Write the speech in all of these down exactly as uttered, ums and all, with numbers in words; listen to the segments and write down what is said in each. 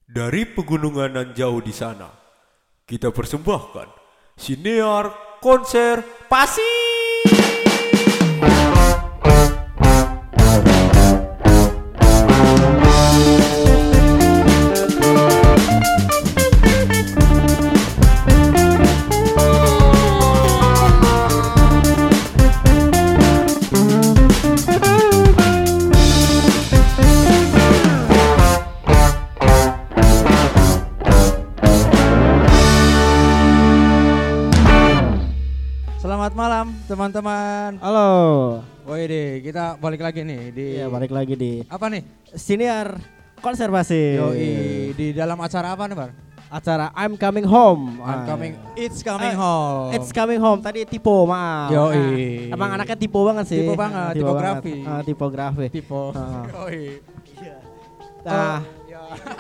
Dari pegunungan nan jauh di sana, kita persembahkan Sinear Konser Pasi. Selamat malam teman-teman. Halo. Woi deh, kita balik lagi nih di Iya, balik lagi di apa nih? Sinear Konservasi. Yoi, di dalam acara apa nih, Bar? Acara I'm Coming Home. I'm Ah. coming, it's coming Ah, home. It's Coming Home. Tadi Tipo, maaf. Yoi. Ah, emang anaknya Tipo banget sih. Tipo banget, Ah, tipografi. banget. Ah, tipografi. Tipo. Ah. Yoi. Nah, Oh, ya.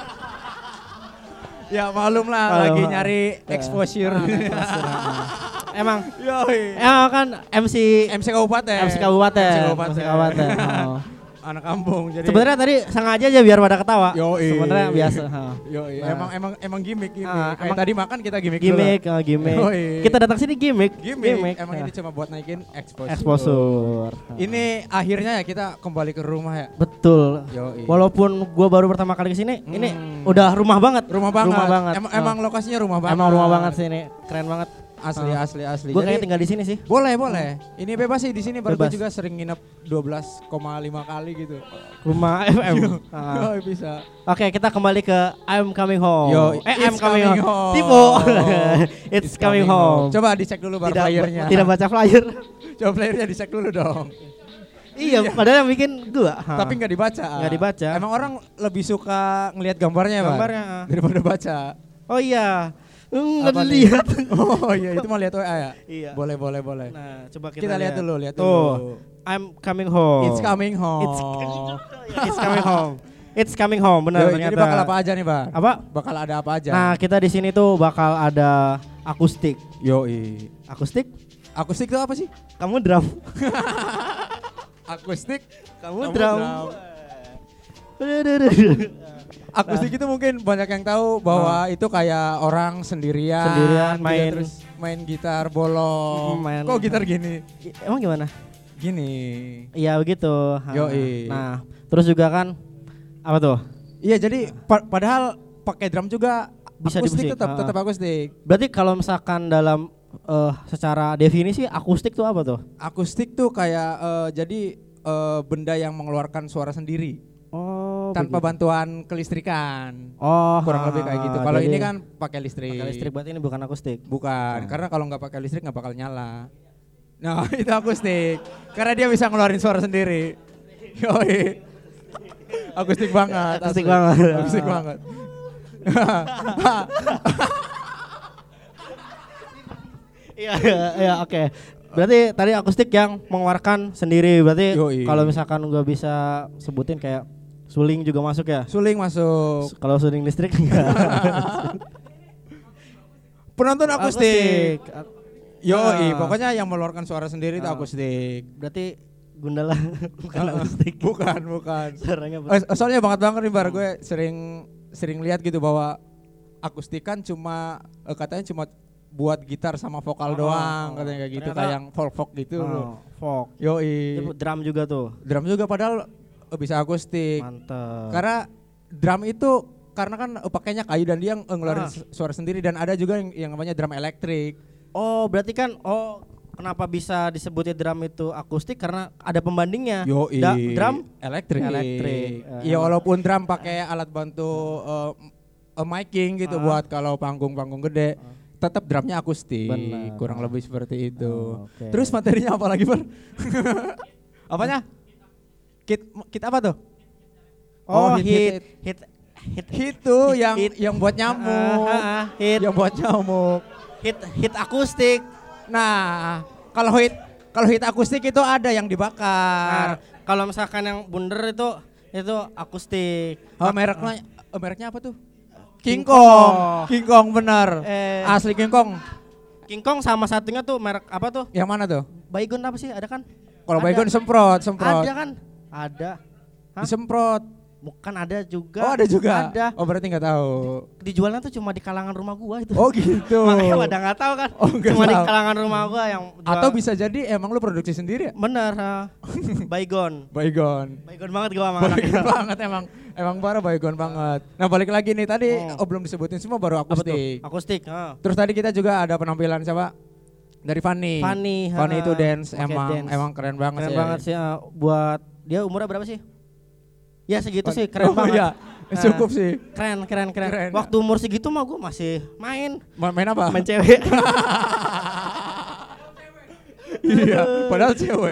Ya malum lah, Malum, lagi ah. nyari Ah. exposure. emang Yoi. emang kan M C M C Kabupaten. M C Kabupaten. M C Kabupaten. M C Kabupaten. Oh. Anak kampung jadi. Sebenarnya tadi sengaja aja biar pada ketawa. Yoi. Sebenarnya biasa. Ah. Yoi, Nah. emang emang emang gimmick gimmick. Ah, Kayak emang- tadi makan kita gimmick dulu. Gimmick, oh, gimmick. Yoi. Kita datang sini gimmick. Gimmick. Emang Ah. ini cuma buat naikin exposure. Exposure. Ini akhirnya ya kita kembali ke rumah ya. Betul. Yoi. Walaupun gua baru pertama kali kesini, Hmm. ini udah rumah banget. Rumah banget. Rumah banget. Emang, Oh. emang lokasinya rumah banget. Emang rumah banget sih ini, keren banget. Asli Oh. asli asli. Gue Jadi, kayak tinggal di sini sih. boleh boleh. Ini bebas sih di sini. Baru gue Bebas. juga sering nginep dua belas koma lima kali gitu. Rumah F M. Ah. Oh, bisa. Oke, kita kembali ke I'm Coming Home. Yo, eh, it's I'm Coming, coming Home. home. Tipe. it's, coming, home. Coba dicek dulu bar Tidak, flyernya. tidak baca flyer. Coba flyernya dicek dulu dong. iya, padahal yang bikin gua. Ha. Tapi nggak dibaca. Nggak dibaca. Emang orang lebih suka ngelihat gambarnya, Bar? Gambarnya, ah. Daripada baca. Oh iya. Hmm, Apa nggak nih? lihat. Oh iya, itu mau lihat W A ya? Iya. Boleh, boleh, boleh. Nah, coba kita, kita, lihat dulu, lihat Tuh, dulu. I'm coming home. It's coming home. It's, it's coming home. It's coming home, benar Yoi, ternyata. jadi bakal apa aja nih, Bar? Apa? Bakal ada apa aja? Nah, kita di sini tuh bakal ada akustik. Yoi. Akustik? Akustik itu apa sih? Kamu drum. Akustik. Kamu Kamu drum. drum. Akustik itu mungkin banyak yang tahu bahwa itu kayak orang sendirian, Sendirian gitu, main- terus main gitar bolong. Mm, main- Kok gitar gini? Emang gimana? Gini. Iya begitu. Ha. Yoi. Nah, terus juga kan apa tuh? Iya, jadi pa- padahal pakai drum juga Bisa di akustik musik. tetap Ah. tetap akustik. Berarti kalau misalkan dalam eh, secara definisi akustik tuh apa tuh? Akustik tuh kayak eh, jadi eh, benda yang mengeluarkan suara sendiri Oh, tanpa begitu. bantuan kelistrikan. Oh, Kurang ha, lebih kayak gitu. ha, Kalau jadi ini kan pakai listrik. pakai listrik, berarti ini bukan akustik. Bukan, Ah. karena kalau nggak pakai listrik nggak bakal nyala. Nah, itu akustik. Karena dia bisa ngeluarin suara sendiri. Yoi. Akustik banget. Akustik asli. banget. Akustik banget. Iya, iya, iya, oke. Berarti tadi akustik yang mengeluarkan sendiri. Berarti Yoi. kalau misalkan gua bisa sebutin kayak suling juga masuk ya? Suling masuk. Kalau suling listrik enggak. Penonton akustik. Ak- Yoi, Ah. pokoknya yang mengeluarkan suara sendiri itu Ah. akustik. Berarti Gundala bukan akustik. Bukan, bukan. Suaranya Oh, soalnya banget banget nih Bar, gue sering sering lihat gitu bahwa akustik kan cuma eh, katanya cuma buat gitar sama vokal Oh, doang, oh. katanya kayak gitu, Ternyata- kayak yang folk folk gitu. Oh, folk. Yoi. Itu drum juga tuh. Drum juga padahal eh, bisa akustik. Mantap. Karena drum itu karena kan eh, pakainya kayu dan dia ng- ngeluarin Ah. su- suara sendiri, dan ada juga yang, yang namanya drum elektrik. Oh, berarti kan oh kenapa bisa disebutnya drum itu akustik karena ada pembandingnya. Yoi. Da- drum elektrik. Elektrik. Eh, Iya, emang. walaupun drum pakai alat bantu uh, uh, miking gitu Ah. buat kalau panggung-panggung gede, tetap drumnya akustik. Benar. Kurang lebih seperti itu. Oh, oke. Terus materinya apa lagi, Bar? Apanya? Kit kit apa tuh? Oh, hit, hit hit hit Hit tuh Hit, yang hit. yang buat nyamuk. Ah, ah, ah, hit Yang buat nyamuk. hit hit akustik. Nah, kalau hit kalau hit akustik itu ada yang Nah, dibakar. kalau misalkan yang bunder itu itu akustik. Oh, mereknya eh, mereknya apa tuh? King King Kong. Kong. King Kong benar. Eh. Asli King Kong. King Kong sama satunya tuh merek apa tuh? Yang mana tuh? Baygon apa sih? Ada kan? Kalau Ada. baygon semprot, semprot. Ada kan? Ada. Hah? Disemprot. Bukan ada juga. Oh ada juga? Ada. Oh berarti nggak tahu. Dijualnya tuh cuma di kalangan rumah gua itu. Oh gitu. Makanya pada nggak tahu kan. Oh, nggak cuma tahu. di kalangan rumah gua yang jual. Atau bisa jadi emang lu produksi sendiri ya? Bener. Uh, Baygon. Baygon. Baygon banget gua sama Baygon anaknya. banget emang. Emang parah baygon banget. Nah balik lagi nih tadi Oh. oh, belum disebutin semua baru Apa tuh? akustik. Akustik. Uh. Terus tadi kita juga ada penampilan siapa? Dari Fanny. Fanny. Fanny uh, itu dance pakai emang dance. emang keren banget Keren sih. banget sih uh, buat dia umurnya berapa sih? Ya segitu sih keren Oh, banget. Iya. Nah, Cukup sih. Keren, keren, keren. Keren. Waktu umur segitu mah gue masih main. Ma- Main apa? Main cewek. Iya, padahal cewek.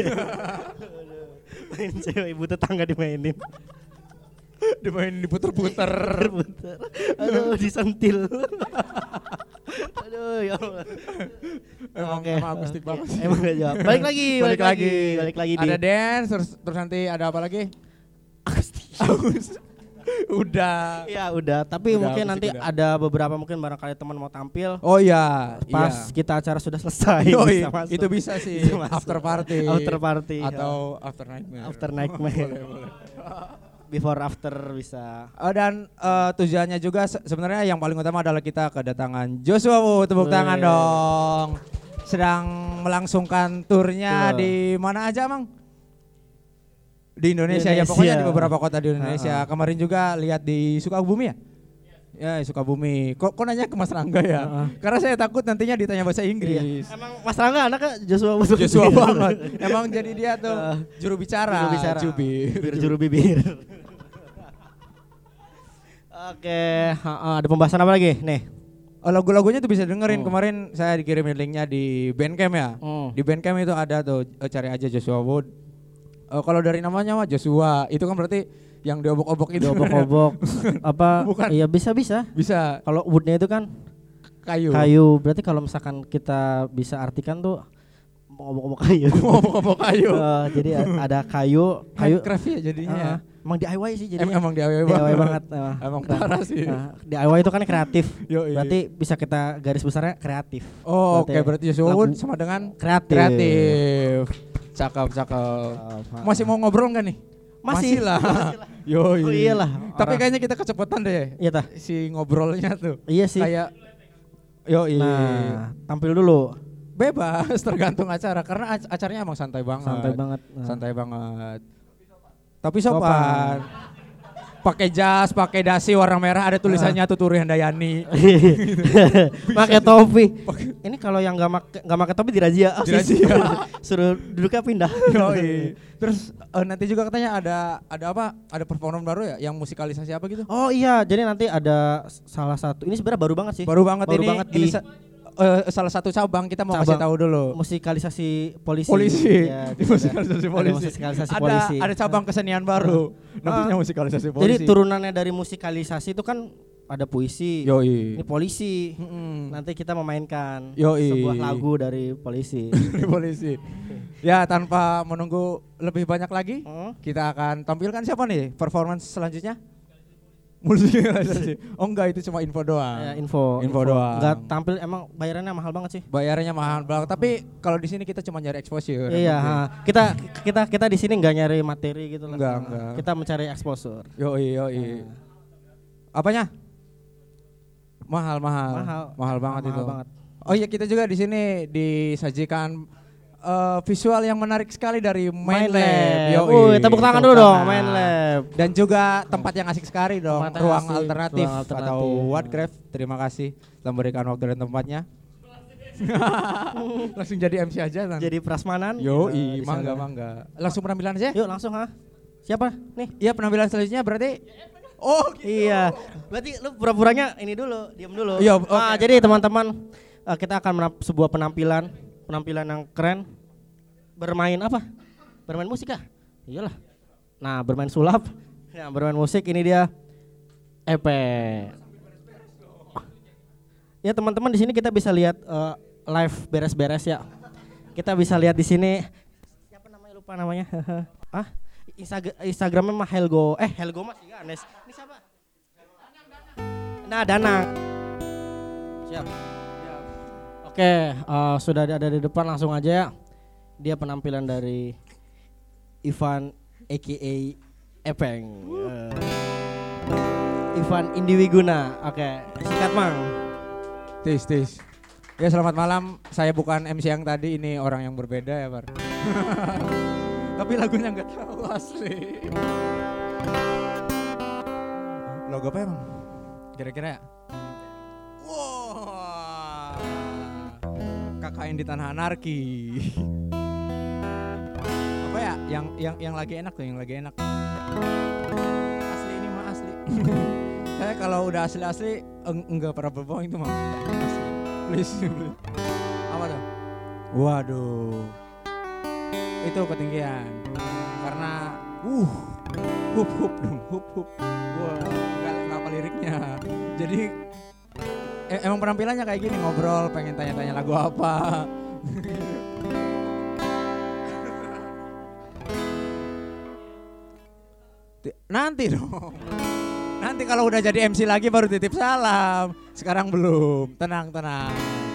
Main cewek ibu tetangga dimainin. Dimainin diputer-puter. Puter. Aduh, disentil. Aduh, ya Allah. Emang, Oke. emang akustik banget sih. Emang gak jawab. Balik lagi, balik, lagi. Balik lagi di Ada dance terus, terus nanti ada apa lagi? akustik. Akustik. Udah. Ya udah, tapi Udah, mungkin akustik nanti udah. ada beberapa mungkin barangkali teman mau tampil. Oh iya, Pas iya. kita acara sudah selesai. Yoi, bisa masuk. itu bisa sih Bisa masuk. after party. After party. Atau after nightmare. After nightmare. Boleh, boleh. Before after bisa. Oh, dan eh, tujuannya juga se- sebenarnya yang paling utama adalah kita kedatangan Joshua Wu, tepuk Wih. tangan dong. Sedang melangsungkan turnya Betul. di mana aja, Mang? Di Indonesia, ya Indonesia. pokoknya di beberapa kota di Indonesia. Ha-ha. Kemarin juga lihat di Sukabumi ya? Ya, di Sukabumi. Kok kok nanya ke Mas Rangga ya? Ha-ha. Karena saya takut nantinya ditanya bahasa Inggris. Emang Mas Rangga anaknya Joshua betul. Joshua banget. Emang jadi dia tuh Ah. juru bicara. Juru bicara. Jubir. Bibir juru bibir. Oke, ha-ha, ada pembahasan apa lagi? Nih. Oh, lagu-lagunya tuh bisa dengerin. Hmm. Kemarin saya dikirimin linknya di Bandcamp ya. Hmm. Di Bandcamp itu ada tuh, eh, cari aja Joshua Wood. Eh, kalau dari namanya mah Joshua, itu kan berarti yang diobok-obok itu. Obok-obok apa? Bukan. Iya bisa bisa. Bisa Kalau woodnya itu kan kayu. kayu. Berarti kalau misalkan kita bisa artikan tuh obok-obok kayu. Obok-obok kayu. Eh, jadi a- ada kayu, kayu. Handcraft ya jadinya. Ah, ya. emang D I Y sih jadi. Em- emang D I Y D I Y banget. banget. Emang, Emang Keren. parah sih. Nah, D I Y itu kan kreatif. Yoi. Berarti bisa kita garis besarnya kreatif. Oh, oke berarti berarti Joshua lagu Wood sama dengan kreatif. kreatif. Cakep, cakep. Ah, Masih mau ngobrol nggak nih? Masih. lah. Masih lah. Yo, Oh iyalah. Tapi Orang- kayaknya kita kecepatan deh. Iya tah. Si ngobrolnya tuh. Iya sih. Kayak yo Nah, tampil dulu. bebas tergantung acara karena ac- acaranya emang santai banget. Santai banget. Nah. Santai banget. Tapi sopan. Sopan. Pakai jas, pakai dasi warna merah ada tulisannya Tuturi Handayani. Pakai topi. Ini kalau yang nggak make nggak pakai topi dirazia. Oh, Dirazia. Suruh duduknya pindah. Yoi. Terus eh, nanti juga katanya ada ada apa? Ada performa baru ya yang musikalisasi apa gitu? Oh iya, jadi nanti ada s- salah satu. Ini sebenarnya baru banget sih. Baru banget Baru ini. banget ini di- sa- eh, salah satu cabang kita mau kasih Cabang. tahu dulu. Musikalisasi polisi. Polisi, Ya, di gitu. musikalisasi Ada polisi. musikalisasi Ada polisi. ada cabang kesenian baru, namanya musikalisasi polisi. Jadi turunannya dari musikalisasi itu kan ada puisi. Yoi. Ini polisi. Mm-mm. Nanti kita memainkan Yoi. sebuah lagu dari polisi. Di polisi. Ya tanpa menunggu lebih banyak lagi, Hmm? kita akan tampilkan siapa nih performance selanjutnya? Musikalisasi. Oh enggak, itu cuma info doang. Ya, info. Info doang. Enggak tampil emang bayarannya mahal banget sih. Bayarannya mahal banget, tapi kalau di sini kita cuma nyari exposure. Iya, ha. kita kita kita di sini nggak nyari materi gitu lah. Enggak, Ha. enggak. Kita mencari exposure. Yoi, yoi. Apanya? Mahal, mahal. Mahal. Mahal banget Mahal itu. banget. Oh iya, kita juga di sini disajikan eh, visual yang menarik sekali dari Main Main Lab. Lab. Yoi, Wuih, tepuk tangan dulu tepuk dong, tangan. Main Lab. Dan juga tempat yang asik sekali dong, Tempat yang ruang asik, alternatif, ruang alternatif. atau Whatcraft. Terima kasih telah memberikan waktu dan tempatnya. Langsung jadi M C aja nanti. Jadi prasmanan. Yo, Nah, di mangga sana. mangga. Langsung penampilan aja. Yuk langsung ha. Siapa? Nih. Iya, penampilan selanjutnya berarti. Oh, Iya. Berarti lu pura-puranya ini dulu, diam dulu. Iya, Ah, oke. jadi teman-teman eh, kita akan menamp- sebuah penampilan, penampilan yang keren. Bermain apa? Bermain musik kah? Iyalah. Nah, bermain sulap. Nah, bermain musik ini dia E P. Ya teman-teman di sini kita bisa lihat eh, live beres-beres ya. Kita bisa lihat di sini. Siapa namanya lupa namanya? ah, Instag- Instagramnya mah Helgo. Eh Helgo mas iya Anes. Ini siapa? Nah Danang. Siap. Oke, eh, sudah ada di depan langsung aja ya. Dia penampilan dari Ivan aka Epeng. Uh, Ivan Indiwiguna. Oke, sikat Mang. Tis, tis. Ya selamat malam, saya bukan M C yang tadi, ini orang yang berbeda ya Bar. Tapi lagunya nggak tahu asli. Logo apa emang? Kira-kira ya? Wah, K K N di Tanah Anarki. Apa ya? Yang yang yang lagi enak tuh, yang lagi enak. Asli ini mah asli. Saya kalau udah asli-asli eng- enggak pernah berbohong itu mah. Asli. Please, please. Apa tuh? Waduh. Itu ketinggian. Karena uh hup hup dong, hup hup. Wah, enggak enggak apa liriknya. Jadi eh, emang penampilannya kayak gini, ngobrol, pengen tanya-tanya lagu apa. Nanti dong. Nanti kalau udah jadi M C lagi baru titip salam. Sekarang belum. Tenang, tenang.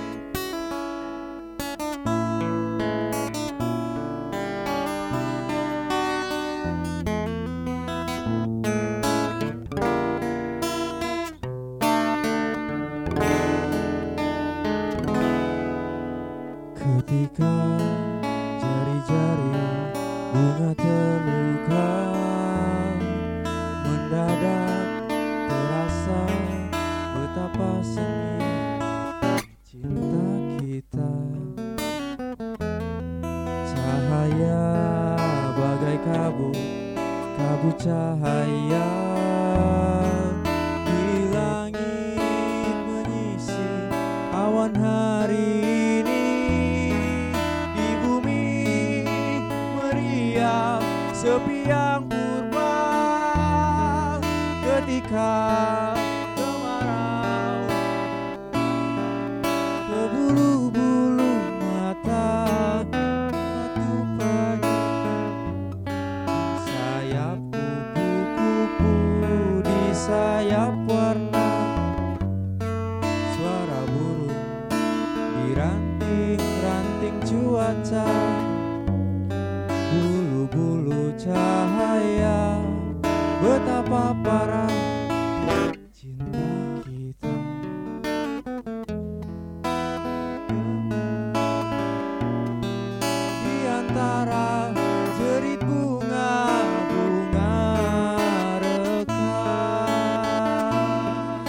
Ketika jari-jari bunga terluka, mendadak terasa betapa seni cinta kita. Cahaya bagai kabut, kabut cahaya di langit menyisir awan hari ini, di bumi meriah sepi yang purba. Ketika kemarau ke bulu-bulu mata, waktu pagi sayap kupu-kupu, di sayap warna suara burung, di ranting-ranting cuaca, bulu-bulu cahaya. Betapa parah cinta kita. Di antara jerit bunga-bunga rekah.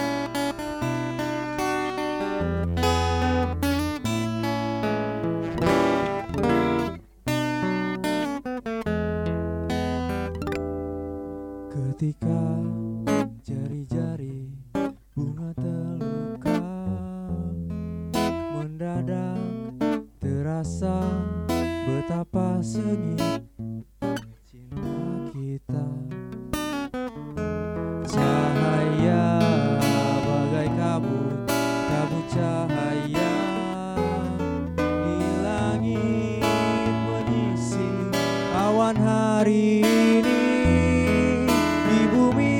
Ketika jari-jari bunga terluka, mendadak terasa betapa sengit cinta kita. Cahaya bagai kabut, kabut cahaya di langit menyisir awan hari ini, di bumi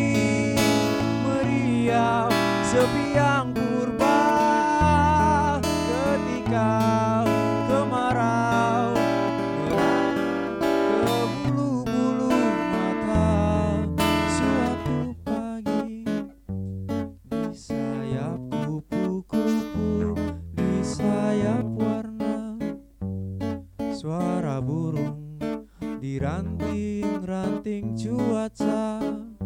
meriah sepi yang purba. Ketika kemarau merana ke bulu-bulu mata, suatu pagi di sayap kupu-kupu, di sayap warna suara burung, di ranting-ranting cuaca,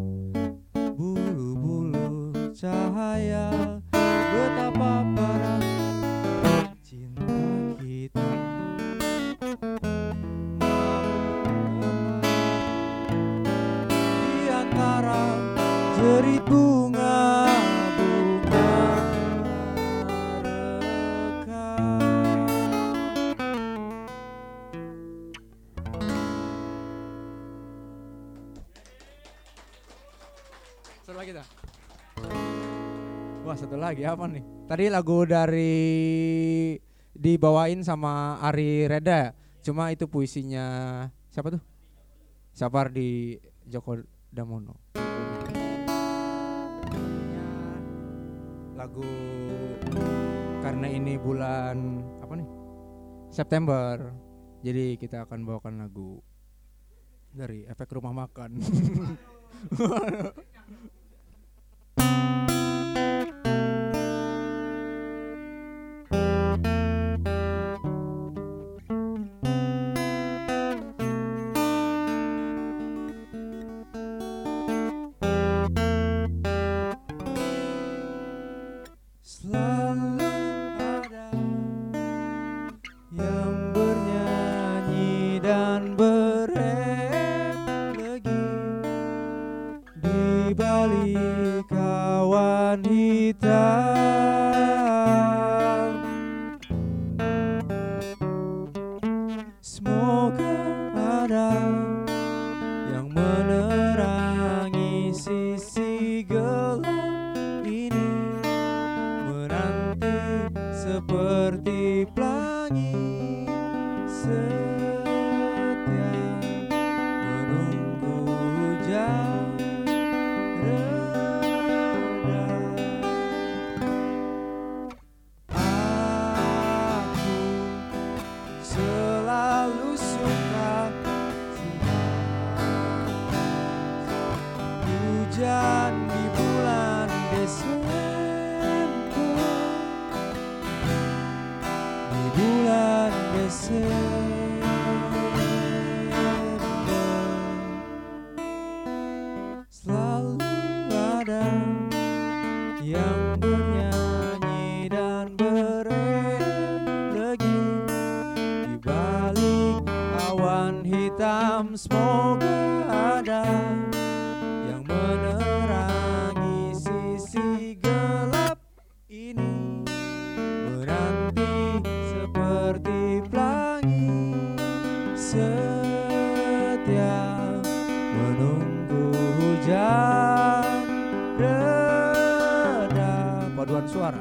bulu-bulu cahaya. Betapa parah cinta kita. Di antara jerit bunga-bunga rekah. Satu lagi dah. Wah, satu lagi apa nih? Tadi lagu dari dibawain sama Ari Reda ya? Cuma itu puisinya siapa tuh? Sapardi Djoko Damono. Lagu karena ini bulan apa nih? September. Jadi kita akan bawakan lagu Dari efek rumah makan. Selalu ada yang bernyanyi dan berenergi di balik awan hitam. Semoga ada yang menerangi sisi gelap ini, menanti seperti pelangi setia menunggu hujan reda. Aku selalu suka hujan di bulan Desember, di bulan Desember. Selalu ada yang bernyanyi dan berenergi di balik awan hitam. Semoga ada yang menerangi sisi gelap ini, menanti seperti pelangi setia menunggu hujan reda. Paduan suara.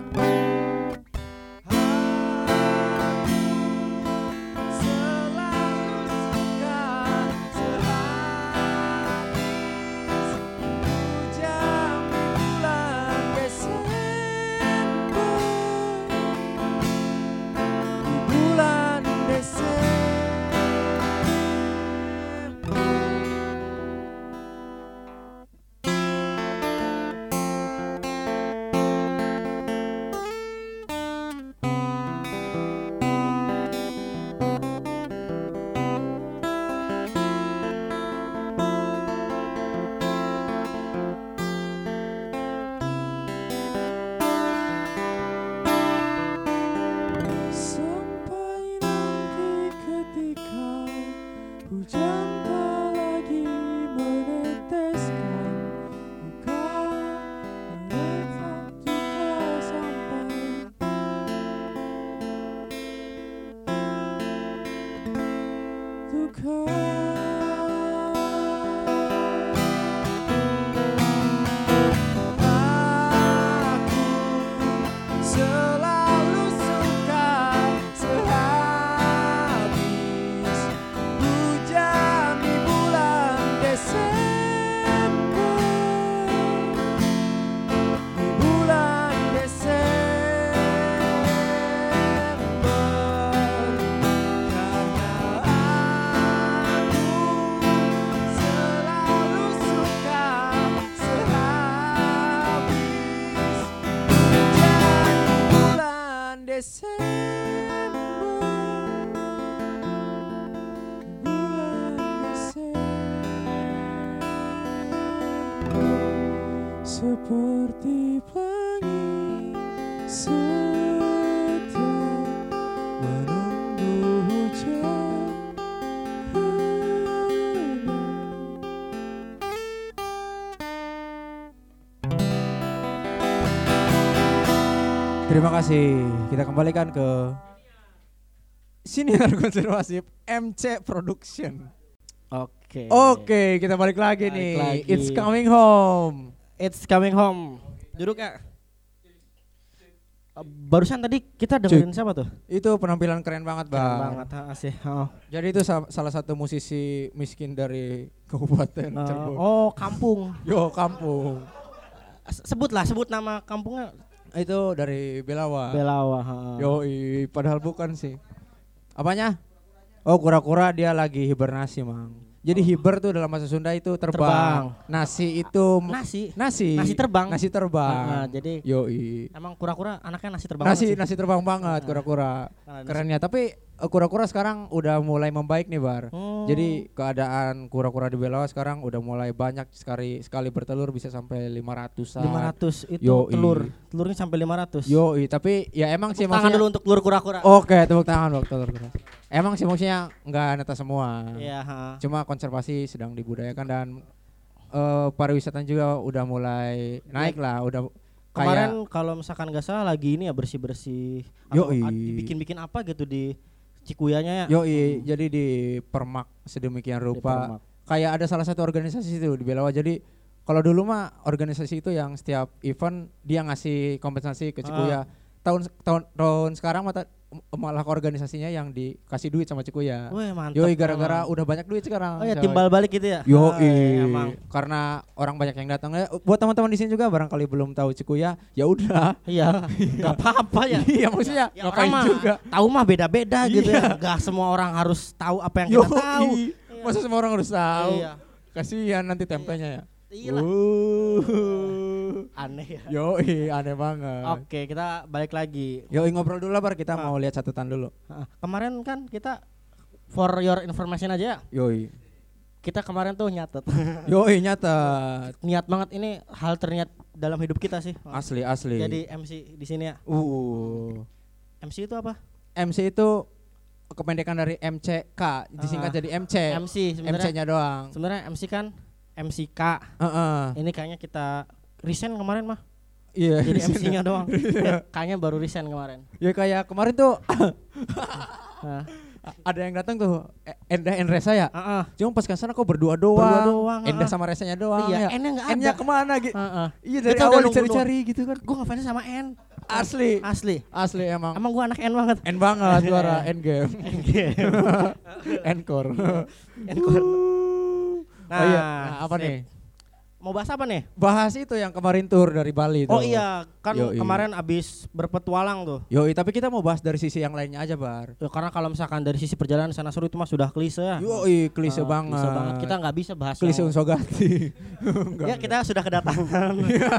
Sampai nanti ketika hujan tak lagi meneteskan, duka melewat duka sampai duka. Aku selalu suka sehabis hujan di bulan Desember, di bulan Desember. Karena aku selalu suka sehabis hujan di bulan Desember, di bulan Desember. Seperti pelangi setia menunggu hujan reda. Terima kasih. Kita kembalikan ke Siniar Konservasi M C Production. Oke. Oke, kita balik lagi Balik nih. lagi. It's coming home. It's coming home. Duduk ya. Barusan tadi kita dengerin siapa tuh? Itu penampilan keren banget, Bang. Keren banget, ha, asih. Oh. Jadi itu sa- salah satu musisi miskin dari Kabupaten Oh, Cirebon. oh, kampung. Yo, kampung. S- Sebutlah, sebut nama kampungnya. Itu dari Belawa. Belawa. ha. Yo, padahal bukan sih. Apanya? Oh, kura-kura dia lagi hibernasi, Mang. Jadi hiber tuh dalam bahasa Sunda itu terbang. Terbang. Nasi itu Nasi. nasi. Nasi terbang. Nasi terbang. Nah, jadi Yoi. emang kura-kura anaknya nasi terbang. Nasi banget sih. nasi terbang banget Nah. kura-kura. Karena nasi- Kerennya tapi eh, kura-kura sekarang udah mulai membaik nih Bar. Hmm. Jadi keadaan kura-kura di Belawa sekarang udah mulai banyak sekali sekali bertelur bisa sampai lima ratusan. lima ratus itu Yoi. telur. Telurnya sampai lima ratus. Yoi, tapi ya emang sih Tepuk tangan maksudnya dulu untuk telur kura-kura. Oke, tepuk tangan buat telur kura. Emang sih maksudnya enggak netas semua. Iya, ha. Cuma konservasi sedang dibudayakan dan eh, pariwisata juga udah mulai naik lah, udah Kemarin kayak kalau misalkan nggak salah lagi ini ya bersih-bersih atau Yoi. ad- dibikin-bikin apa gitu di Cikuyanya ya. yoi, jadi di permak sedemikian Di rupa. Permak. Kayak ada salah satu organisasi itu di Belawa. Jadi kalau dulu mah organisasi itu yang setiap event dia ngasih kompensasi ke Cikuya. Tahun tahun tahun sekarang mata, malah organisasinya yang dikasih duit sama Cikuya. Wih, mantap. Yoi, gara-gara emang. udah banyak duit sekarang. Oh ya coy. timbal balik gitu ya. Yo, Oh, iya, emang. karena orang banyak yang datang. Eh, Buat teman-teman di sini juga barangkali belum tahu Cikuya, ya udah. Iya, nggak apa-apa ya. Iya, maksudnya Ya ngapain orang mah juga. tahu mah beda-beda gitu Iya. ya. Gak semua orang harus tahu apa yang Yo, kita tahu. masa semua orang harus tahu. Iya. Kasihan nanti tempenya ya. Iya lah. Uh. Aneh ya. Yo, aneh banget. Oke, kita balik lagi. Yo, ngobrol dulu lah Bar, kita Ah. mau lihat catatan dulu. Ah, Kemarin kan kita for your information aja ya. Yoi. Kita kemarin tuh nyatet. Yoi, nyatet. Niat banget ini hal terniat dalam hidup kita sih. Asli, asli. Jadi M C di sini ya. uh. M C itu apa? M C itu kependekan dari M C K, disingkat Ah. jadi M C. M C sebenarnya. M C-nya doang. Sebenarnya M C kan M C K. Heeh. Ini kayaknya kita resign kemarin mah. Iya. Jadi M C-nya doang. Kayaknya baru resign kemarin. Ya kayak kemarin tuh Nah, ada yang datang tuh eh, Endah and Resa ya. heeh. Cuma pas kesana kok berdua doang. Berdua doang, Endah ah. sama Resanya doang. Iya, ya. N-nya nggak N-nya ada. kemana gitu? Heeh. Iya dari Kita udah awal nunggu dicari-cari gitu kan. Gue ngefans sama N. Asli. Asli. Asli emang. Emang gue anak N banget. N banget suara N game. N core. N-core. Nah, oh iya. Nah, apa sip. nih? Mau bahas apa nih? Bahas itu yang kemarin tur dari Bali tuh. Oh iya, kan Yoi. kemarin abis berpetualang tuh. Yoi, tapi kita mau bahas dari sisi yang lainnya aja, Bar. Ya, karena kalau misalkan dari sisi perjalanan sana seru itu mah sudah klise ya. Yoi, klise Ah, banget. Klise banget. Kita nggak bisa bahas. klise yang- Unsogati. Ya kita sudah kedatangan.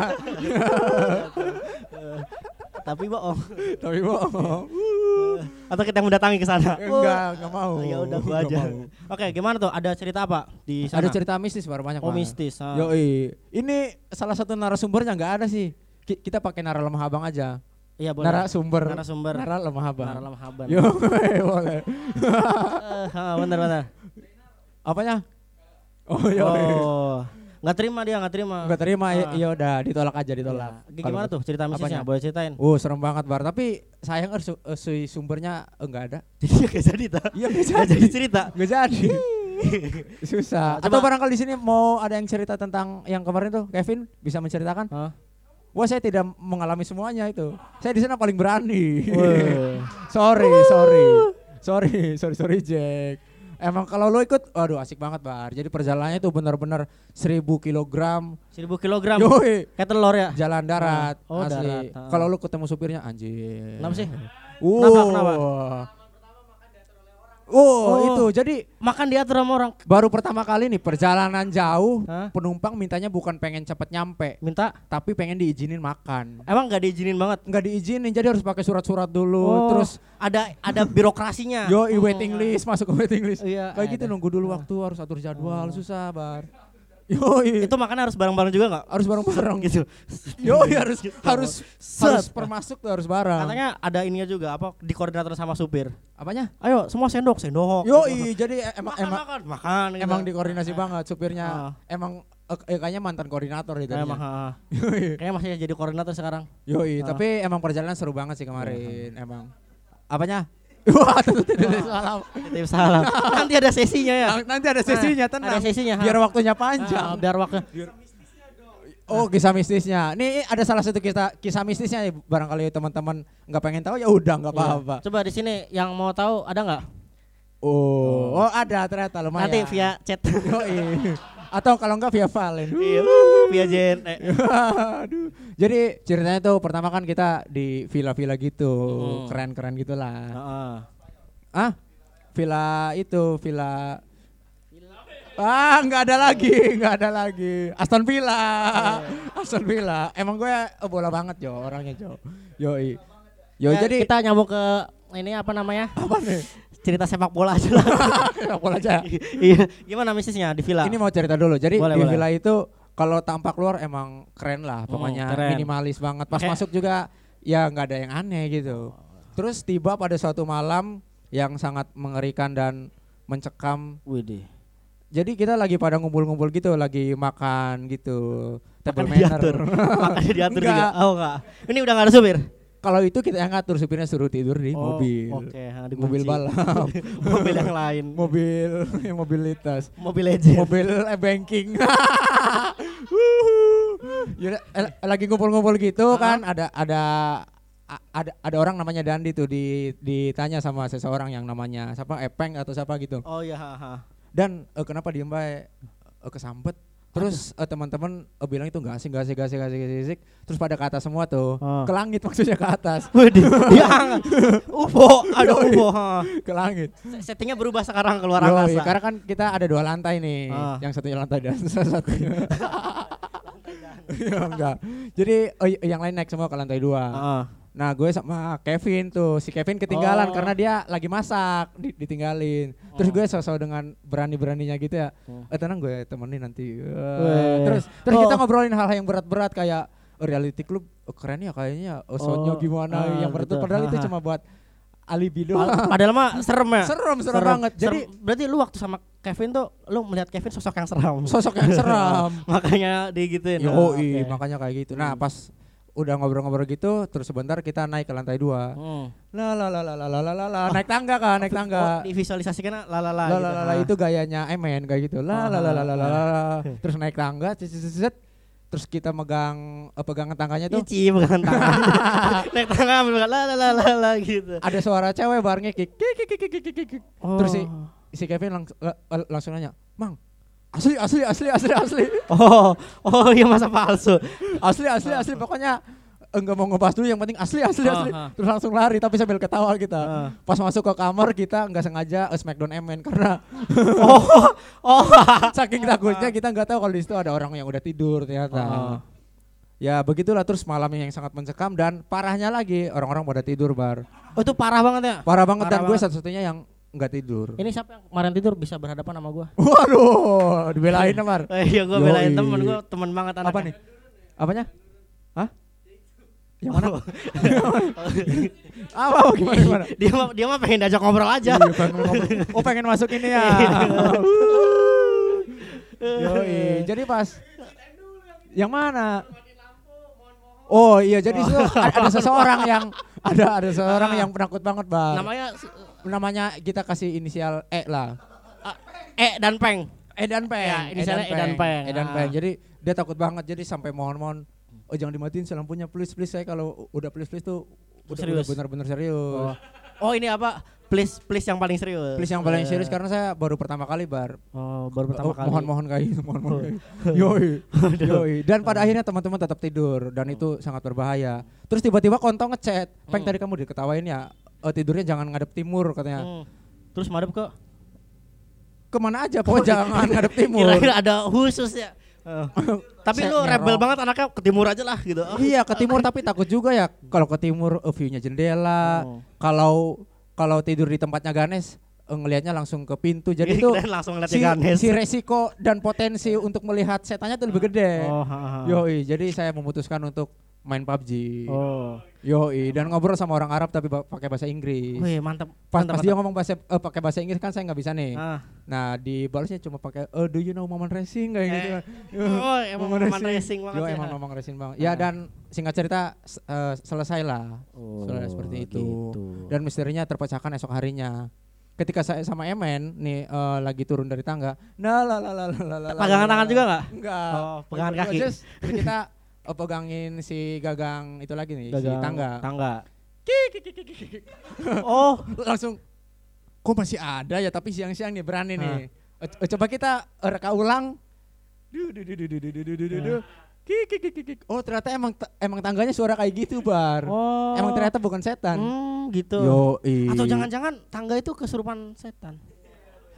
Tapi bohong. Tapi bohong. Atau kita mendatangi ke sana. Enggak, enggak mau. Ya udah gua Nggak aja. mau. Oke, gimana tuh? Ada cerita apa di sana? Ada cerita mistis Bar, banyak Oh, banget. mistis. ah. Yoi. Ini salah satu narasumbernya enggak ada sih. Ki- Kita pakai nara lemah abang aja. Iya, boleh. Narasumber. Narasumber. Nara lemah abang. Nara lemah haban. Yo, boleh. Eh, ah, bener bener. Apanya? Oh, yoi. Oh. Nggak terima dia, nggak terima. Enggak terima, ya Ah. ya udah ditolak aja, ditolak. Iya. Gimana tuh cerita mistisnya? Apanya? Boleh ceritain. Oh, serem banget Bar, tapi sayang er, su- eh, sui sumbernya enggak ada. Jadi nggak jadi tak? Iya, enggak Nggak jadi cerita. Enggak jadi. Susah. Nah, Atau coba- barangkali di sini mau ada yang cerita tentang yang kemarin tuh, Kevin bisa menceritakan? Hah? Wah, saya tidak mengalami semuanya itu. Saya di sana paling berani. Weh. sorry, sorry. Sorry, sorry, sorry Jack. Emang kalau lo ikut, waduh asik banget Bar. Jadi perjalanannya itu benar-benar seribu kilogram. Seribu kilogram. Yoi, Kayak telur ya. jalan darat. Oh, asli. darat, ah. Kalau lo ketemu supirnya anjir. Kenapa sih? Uh. Kenapa, kenapa? Oh, Oh. itu. Jadi Makan diatur sama orang. baru pertama kali nih perjalanan jauh, Hah? penumpang mintanya bukan pengen cepet nyampe, Minta. tapi pengen diizinin makan. Emang nggak diizinin banget. Nggak diizinin, jadi harus pakai surat-surat dulu. Oh, Terus ada ada birokrasinya. yo Oh. waiting list, masuk ke waiting list. Iya, Kayak gitu ada. nunggu dulu waktu, harus atur jadwal, susah Bar. Yo, Itu makan harus bareng-bareng juga nggak? harus bareng-bareng. Gitu. Yo, harus harus Set. harus permasuk tuh harus bareng. Katanya ada ininya juga apa di koordinator sama supir. Apanya? Ayo semua sendok, sendok. Yo, jadi emang makan, emang makan, makan. gitu. emang dikoordinasi banget supirnya. Ah. Emang eh, kayaknya mantan koordinator itu. Emang, ah. Kayaknya masih jadi koordinator sekarang. Yoi, Ah. tapi emang perjalanan seru banget sih kemarin, emang. Apanya? Wah, tuh, tuh, tuh, tuh, salam. Titip salam. Nanti ada sesinya ya. Nanti ada sesinya, Ah, tenang. ada sesinya, ha. Biar waktunya Ah, panjang. biar waktu. Oh, kisah mistisnya. Nih ada salah satu kisah kisah mistisnya nih, barangkali teman-teman nggak pengen tahu ya udah nggak Iya. apa-apa. Coba di sini yang mau tahu ada nggak? Oh, oh ada ternyata lumayan. Nanti via chat. Yoi. Atau kalau enggak via Valen. Iya, via Jen. Eh. Aduh. Jadi ceritanya tuh pertama kan kita di villa-villa gitu, Hmm. keren-keren gitulah. Heeh. Ah, villa itu, villa Ah, nggak ada lagi, nggak ada lagi. Aston Villa, Aston Villa. Emang gue bola banget Jo, orangnya Jo. Yoi. Yo Ya, jadi kita nyambung ke ini apa namanya? apa nih? Cerita sepak bola aja lah. Sepak bola aja. Iya. Gimana misisnya di villa? Ini mau cerita dulu. Jadi Boleh, di boleh. villa itu kalau tampak luar emang keren lah, pokoknya Hmm, keren. minimalis banget. Pas Kayak- masuk juga ya nggak ada yang aneh gitu. Terus tiba pada suatu malam yang sangat mengerikan dan mencekam. Widih. Jadi kita lagi pada ngumpul-ngumpul gitu, lagi makan gitu. Table Makan manner. diatur. Makanya diatur juga. Enggak. Oh enggak. Ini udah enggak ada supir. Kalau itu kita yang ngatur, supirnya suruh tidur di Oh, mobil. Oke, ha, dikunci. Mobil balap, Mobil yang lain. mobil yang mobilitas, Mobil legend. mobil e-banking. Yaudah, eh, lagi ngumpul-ngumpul gitu Uh-huh. kan, ada ada a- ada ada orang namanya Dandi tuh di ditanya sama seseorang yang namanya siapa Epeng atau siapa gitu. Oh iya, ha, ha. Dan eh, kenapa diem bae eh, kesampet. Terus eh, teman-teman eh, bilang itu enggak asik, enggak asik, enggak asik, enggak asik, enggak asik. Terus pada ke atas semua tuh. Oh. Ke langit maksudnya ke atas. Widih, dia angkat. U F O, ada U F O. ha. Ke langit. Settingnya berubah sekarang keluar Yoi, angkasa. karena kan kita ada dua lantai nih. Ah. Yang satunya lantai dan satunya. Ya enggak. Jadi oh, y- yang lain naik semua ke lantai dua. Heeh. Nah gue sama Kevin tuh, si Kevin ketinggalan Oh. karena dia lagi masak, di- ditinggalin. Terus Oh. gue sosok dengan berani-beraninya gitu ya, Oh. eh tenang gue temenin nanti. Wah, Weh. terus terus Oh. kita ngobrolin hal-hal yang berat-berat kayak oh, reality club oh, keren ya kayaknya, oh, soundnya Oh, gimana ah, yang berat. gitu. Padahal itu Ha, ha. cuma buat alibi Pad- doang. Padahal mah serem ya. Serem, serem banget. Jadi Serem. Berarti lu waktu sama Kevin tuh lu melihat Kevin sosok yang seram. sosok yang seram. Makanya digituin. Yoi, Oh, oke. makanya kayak gitu. Nah, Hmm. pas udah ngobrol-ngobrol gitu, terus sebentar kita naik ke lantai dua. Hmm. La la la la la la la la la, naik tangga kan, naik Oh, tangga. divisualisasikan lalala La gitu. la la la Ha. itu gayanya Emen kayak gitu. La la la la la la la. la. Terus naik tangga, cet, cet, cet, cet. Terus kita megang eh, pegangan tangganya tuh. Ici bukan tangan. Naik tangan ambil la la la la la gitu. Ada suara cewek bar ngekik. Kik, kik, kik, kik, kik, kik. Terus si si Kevin langs- la- la- langsung nanya, "Mang, asli asli asli asli asli." Oh, oh iya masa palsu. Asli asli asli pokoknya enggak mau ngebahas dulu, yang penting asli asli asli. Ah, ah. Terus langsung lari tapi sambil ketawa kita. Ah. Pas masuk ke kamar kita nggak sengaja eh, Smackdown M N karena Oh, oh. saking takutnya kita nggak tahu kalau di situ ada orang yang udah tidur ternyata. Ah. Ya begitulah, terus malamnya yang sangat mencekam dan parahnya lagi orang-orang pada tidur bar. Oh itu parah banget ya. Parah banget Parah dan gue banget. satu-satunya yang nggak tidur. Ini siapa yang kemarin tidur bisa berhadapan sama gua? Waduh, dibelain Mar. Eh, iya gua Yoi. belain temen gua, temen banget anaknya. Apa nih? Apanya? Hah? Yang mana? Apa, apa gimana gimana? dia mah dia mah pengen diajak ngobrol aja. Iya, pengen ngobrol. Oh pengen masuk ini ya. Yoi, jadi pas yang mana? Oh iya, jadi itu ada, ada seseorang yang ada ada seseorang yang penakut banget bang. Namanya Namanya kita kasih inisial E lah. ah, E dan Peng. E dan Peng. Ya, inisialnya E dan Peng. E dan Ah. Peng. Jadi dia takut banget. Jadi sampai mohon-mohon, oh jangan dimatiin sih lampunya, please please. Saya kalau udah please please tuh udah, Serius? udah benar-benar serius. Oh. Oh ini apa? Please please yang paling serius. Please yang paling Eh. serius karena saya baru pertama kali bar. Oh, baru pertama Oh, kali. Mohon-mohon kayak gitu, mohon-mohon kayak gitu. Yoi. Yoi. Dan pada akhirnya teman-teman tetap tidur dan itu sangat berbahaya. Terus tiba-tiba kontong ngechat, "Peng, Hmm. tadi kamu diketawain ya, eh, tidurnya jangan ngadep timur," katanya. Hmm. Terus madep ke Kemana aja pokoknya jangan ngadep timur. kira-kira ada khusus ya. Oh. Tapi Saya lu rebel nyerong. banget anaknya ke timur aja lah gitu. Oh. Iya, ke timur tapi takut juga ya kalau ke timur eh, view-nya jendela. Oh. Kalau kalau tidur di tempatnya Ganes eh, ngelihatnya langsung ke pintu. Jadi itu Kirain langsung ngeliat si, Ganes. si resiko dan potensi untuk melihat setannya tuh lebih gede. Oh, ha, ha. Yoi, jadi saya memutuskan untuk main P U B G. Oh. Yoi, dan ngobrol sama orang Arab tapi ba- pakai bahasa Inggris. Wih, mantap. Pas, mantap, pas dia ngomong bahasa eh, pakai bahasa Inggris kan saya nggak bisa nih. Ah. Nah, dibalasnya cuma pakai oh, do you know Maman Racing kayak gitu. Eh, Oh, emang Maman Racing banget Yo, ya. emang Maman Racing banget. Ya Ah. dan singkat cerita s- eh, selesai lah. Oh, Selesai seperti itu. gitu. Dan misterinya terpecahkan esok harinya. Ketika saya sama Emen nih eh, lagi turun dari tangga. Nah, la la la la la la. Pegangan tangan juga nggak? Enggak. Oh, pegangan Berdua kaki. just, jadi kita eh, pegangin si gagang itu lagi nih, si Gagang tangga. Tangga. Kik, kik, kik, kik, kik, kik. Oh, Langsung kok masih ada ya, tapi siang-siang nih berani Ah. nih. Eh, eh, coba kita eh, reka ulang. Du, du, du, du, du, du, du, du, du, du, du. Kik, kik, kik, kik, kik. Oh ternyata emang ta- emang tangganya suara kayak gitu bar. oh. Emang ternyata bukan setan. Hmm, gitu. Yo, Atau jangan-jangan tangga itu kesurupan setan.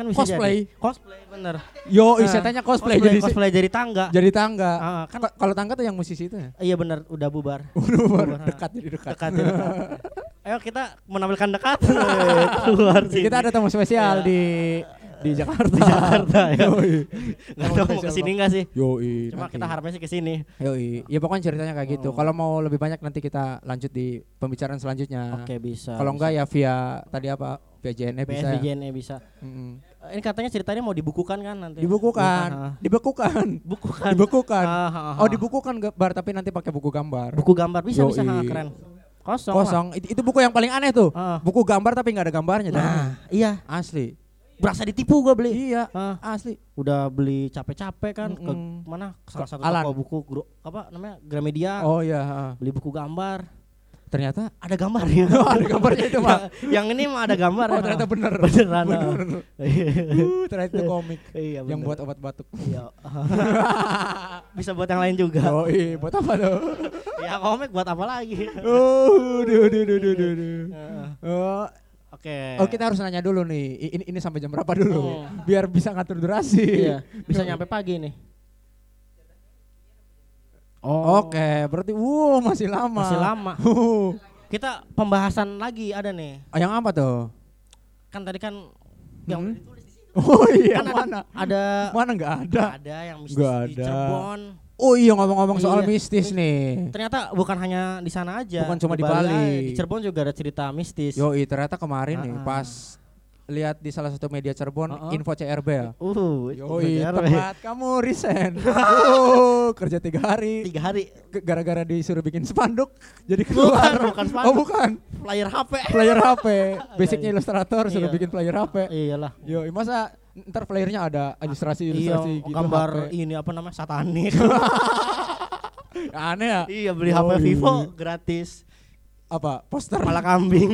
kan bisa cosplay. jadi. Cosplay bener. Yo, Nah, setannya cosplay, cosplay, jadi cosplay jadi tangga. jadi tangga. Ah, kan Ka- Kalau tangga tuh yang musisi itu ya? iya bener udah bubar. Udah Bubar. dekat jadi dekat. Dekat, ya, dekat. Ayo kita menampilkan dekat. Keluar sini. Kita ada tamu spesial Iya. di di Jakarta. Di Jakarta ya. Yoi. Nggak tahu mau kesini nggak sih? Yoi. Cuma nanti. kita harapnya sih kesini. Yoi. Ya pokoknya ceritanya kayak gitu. Oh. Kalau mau lebih banyak nanti kita lanjut di pembicaraan selanjutnya. Oke bisa. Kalau enggak ya via tadi apa? Via J N E bisa. B S B ya? J N E bisa. Mm-mm. Eh, Ini katanya ceritanya mau dibukukan kan nanti. Dibukukan, Ah, dibekukan, Bukukan. dibekukan. Ah, ah, ah. Oh dibukukan gambar tapi nanti pakai buku gambar. Buku gambar bisa bisa Yoi. ha, keren. Kosong. Kosong. Itu, itu buku yang paling aneh tuh. Ah. Buku gambar tapi nggak ada gambarnya. Lah. Dah. Nah, iya. Asli. Berasa ditipu gua beli. Iya. Ah, Asli. udah beli capek-capek kan ke Mm-mm. mana? Ke salah Ke satu Alan. toko buku gro, apa namanya? Gramedia. Oh iya. ah. Beli buku gambar. Ternyata Ada gambarnya. Oh, ada gambarnya itu mah. yang ini mah ada gambar. Oh ternyata bener. Beneran. ah. Bener. Uh, ternyata itu komik Iya, yang bener. buat obat batuk. Iya. Bisa buat yang lain juga. Oh iya, buat apa tuh? Ya komik buat apa lagi? Oh, duh, duh, duh, duh, duh, duh. Heeh. Oh, Oke. oh, kita harus nanya dulu nih. I- Ini ini sampai jam berapa dulu? Oh. Biar bisa ngatur durasi. Iya, bisa nyampe pagi nih. Oke, berarti wow masih lama. Masih lama. Uh. Kita pembahasan lagi ada nih. Ah, yang apa tuh? Kan tadi kan yang Hmm? ditulis di sini. Oh iya, Kan ada- mana? Ada Mana nggak ada? ada yang mistis Nggak di ada. Cirebon. Oh iya ngomong-ngomong soal Iya. mistis nih. Ternyata bukan hanya di sana aja. Bukan cuma di Bali. aja. Di Cirebon juga ada cerita mistis. Yoi, ternyata kemarin nih Ah. pas lihat di salah satu media Cirebon Uh-uh. info C R B ya. Uh, Yoi, bener. tempat kamu resign. Oh, kerja tiga hari. Tiga hari. Ke- Gara-gara disuruh bikin spanduk, jadi Bukan, keluar. bukan Oh spanduk. bukan, Player H P. player H P. Basicnya ilustrator suruh Iya. bikin player H P. Iyalah. Yo, masa ntar playernya ada ilustrasi Iya, ilustrasi gitu gambar H P. ini apa namanya? Satanik. Aneh ya. Iya, beli H P Yoi. Vivo gratis. Apa? Poster. Kepala kambing.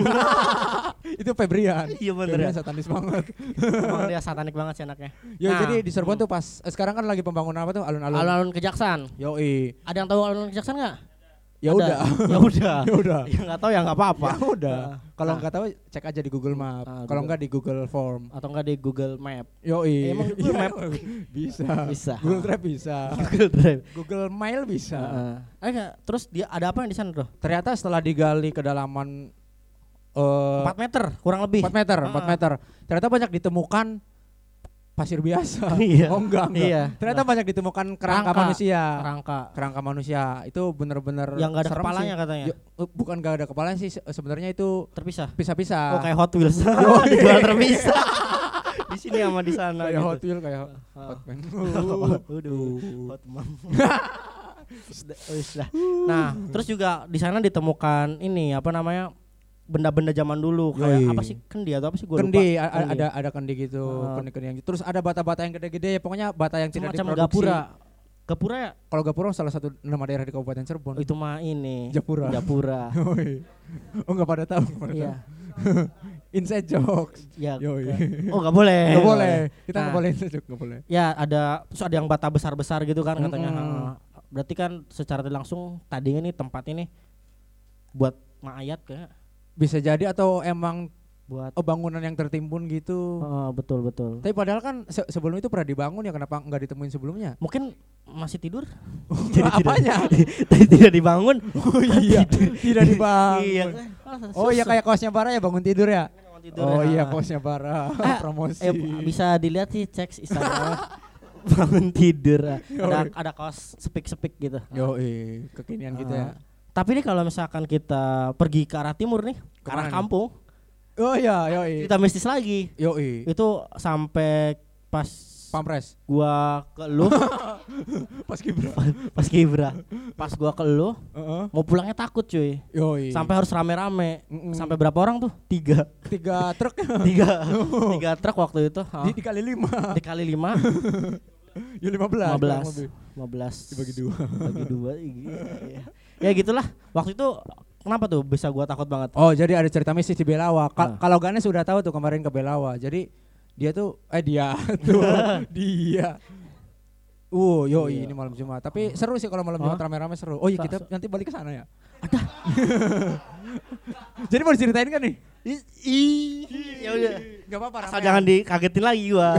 Itu Febrian. Iya bener Febrian ya. satanis banget. Emang dia satanik banget sih anaknya. Yo, Nah, jadi di Cirebon tuh pas eh, sekarang kan lagi pembangunan apa tuh alun-alun. Alun-alun Kejaksan. Yoi. Ada yang tahu alun-alun Kejaksan nggak? Ya Ada. udah. Ya udah. Ya udah. Ya nggak tahu ya nggak apa-apa. Ya udah. Kalau Nah. nggak tahu cek aja di Google Map. Ah, Kalau Google. nggak di Google Form. Atau nggak di Google Map. Yoi. Eh, emang Google Iya, Map? bisa. Bisa. Google Drive bisa. Google Drive. Google Mail bisa. Heeh. Eh, nggak, terus dia ada apa yang di sana tuh? Ternyata setelah digali kedalaman eh empat meter kurang lebih. empat meter, empat Ah. meter. Ternyata banyak ditemukan pasir biasa. Iya. Oh enggak, enggak. Iya. Ternyata banyak ditemukan kerangka, Kerangka. manusia. Kerangka. Kerangka manusia. Itu bener-bener Yang nggak ada serem kepalanya sih. katanya. Yo, eh, bukan nggak ada kepalanya sih, se- sebenarnya itu Terpisah. pisah-pisah. Oh kayak Hot Wheels. Oh, iya. Dijual terpisah. Di sini sama di sana kayak gitu. Hot Wheel kayak Ah. Hot Man. Waduh, hot mom. Sudah, sudah. Nah, terus juga di sana ditemukan ini apa namanya? Benda-benda zaman dulu Yoi. kayak apa sih kendi atau apa sih gua Kendi, lupa. a- a- ada ada kendi gitu, Ah. kendi-kendi yang gitu. Terus ada bata-bata yang gede-gede, pokoknya bata yang tidak Semacam diproduksi. Gapura. Gapura ya? Kalau Gapura salah satu nama daerah di Kabupaten Cirebon. Oh, itu mah ini. Japura. Japura. Yoi. Oh nggak pada tahu. nggak pada Iya. tahu. Inside jokes. Ya. Yoi. ke- Oh, enggak boleh. Nggak boleh. Kita nggak Nah. boleh inside joke, nggak boleh. Ya, ada terus ada yang bata besar-besar gitu kan katanya. Mm-mm. Heeh. Berarti kan secara tidak langsung tadinya nih tempat ini buat mayat kayak Bisa jadi atau emang buat oh, bangunan yang tertimbun gitu. Oh, betul betul. Tapi padahal kan se- sebelum itu pernah dibangun ya, kenapa nggak ditemuin sebelumnya? Mungkin masih tidur. Apanya? Tadi tidak dibangun. Oh iya, tidak dibangun. Iya. Oh iya kayak kaosnya Bara ya, bangun tidur ya. Bangun tidur Oh ya. iya kaosnya Bara. Ah, Promosi. Eh, bisa dilihat sih cek Instagram. Bangun tidur. Ada ada kaos sepik-sepik gitu. Yo, kekinian gitu ya. Ah. Tapi nih kalau misalkan kita pergi ke arah timur nih, ke Kemana arah nih? kampung, Oh iya, yo. kita mistis lagi. Yo, Itu sampai pas Pampres. gua ke lu, Pas Kibra. pas Kibra, pas gua ke lu, Heeh. mau pulangnya takut cuy. Yo. Sampai harus rame-rame. Mm-mm. Sampai berapa orang tuh? Tiga. tiga truk Tiga. Tiga truk waktu itu. di, dikali lima. Dikali lima. Ya lima belas. Lima belas. kurang lebih. Lima belas. Dibagi dua. Bagi dua. Iya. Ya gitulah. Waktu itu kenapa tuh bisa gua takut banget? Oh jadi ada cerita mistis di Belawa. Ka- Ah. Kalau Ganes sudah tahu tuh kemarin ke Belawa. Jadi dia tuh eh dia tuh dia. Uh, yo Iya. ini malam Jumat. Tapi seru sih kalau malam Jumat Hah? rame-rame seru. Oh iya Sa- kita nanti balik ke sana ya. Ada. Jadi mau diceritain kan nih? Ih, ya udah. Enggak apa-apa. Asal jangan dikagetin lagi gua.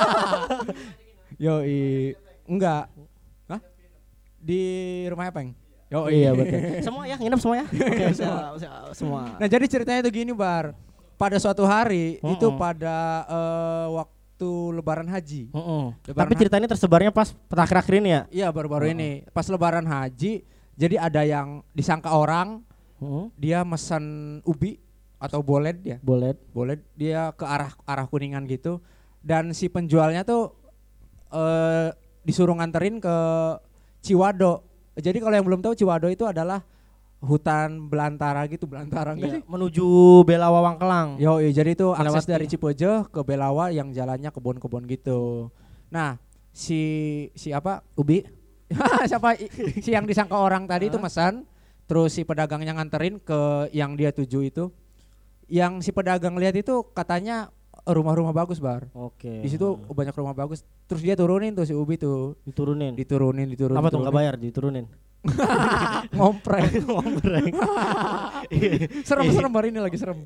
Yoi. Enggak. Hah? Di rumah Epeng. Yoi. Iya betul. Semua ya nginep semua ya. Oke, siap, siap, semua. Nah, jadi ceritanya itu gini, Bar. Pada suatu hari Mm-mm. itu pada uh, waktu lebaran haji. Mm-mm. Lebaran Tapi ha- ceritanya tersebarnya pas akhir-akhir ini ya. Iya, baru-baru Mm-mm. ini. Pas lebaran haji, jadi ada yang disangka orang, Mm-mm. dia mesen ubi atau boled ya. Boleh. Boleh dia ke arah arah Kuningan gitu dan si penjualnya tuh eh disuruh nganterin ke Ciwado. Jadi kalau yang belum tahu Ciwado itu adalah hutan belantara gitu, belantara enggak Iya, sih? menuju Belawa Wangkelang. Yo, iya, jadi itu akses Melewati. dari Cipojo ke Belawa yang jalannya kebun-kebun gitu. Nah, si si apa? Ubi. Siapa i- si yang disangka orang tadi itu Hah? mesan, terus si pedagangnya nganterin ke yang dia tuju itu. Yang si pedagang lihat itu katanya rumah-rumah bagus, Bar. Oke. Di situ banyak rumah bagus. Terus dia turunin tuh si Ubi tuh, diturunin. diturunin, diturunin. Apa tuh diturunin. nggak bayar diturunin? Ngompreng. Ngombreng. Serem-serem Bar, ini lagi serem.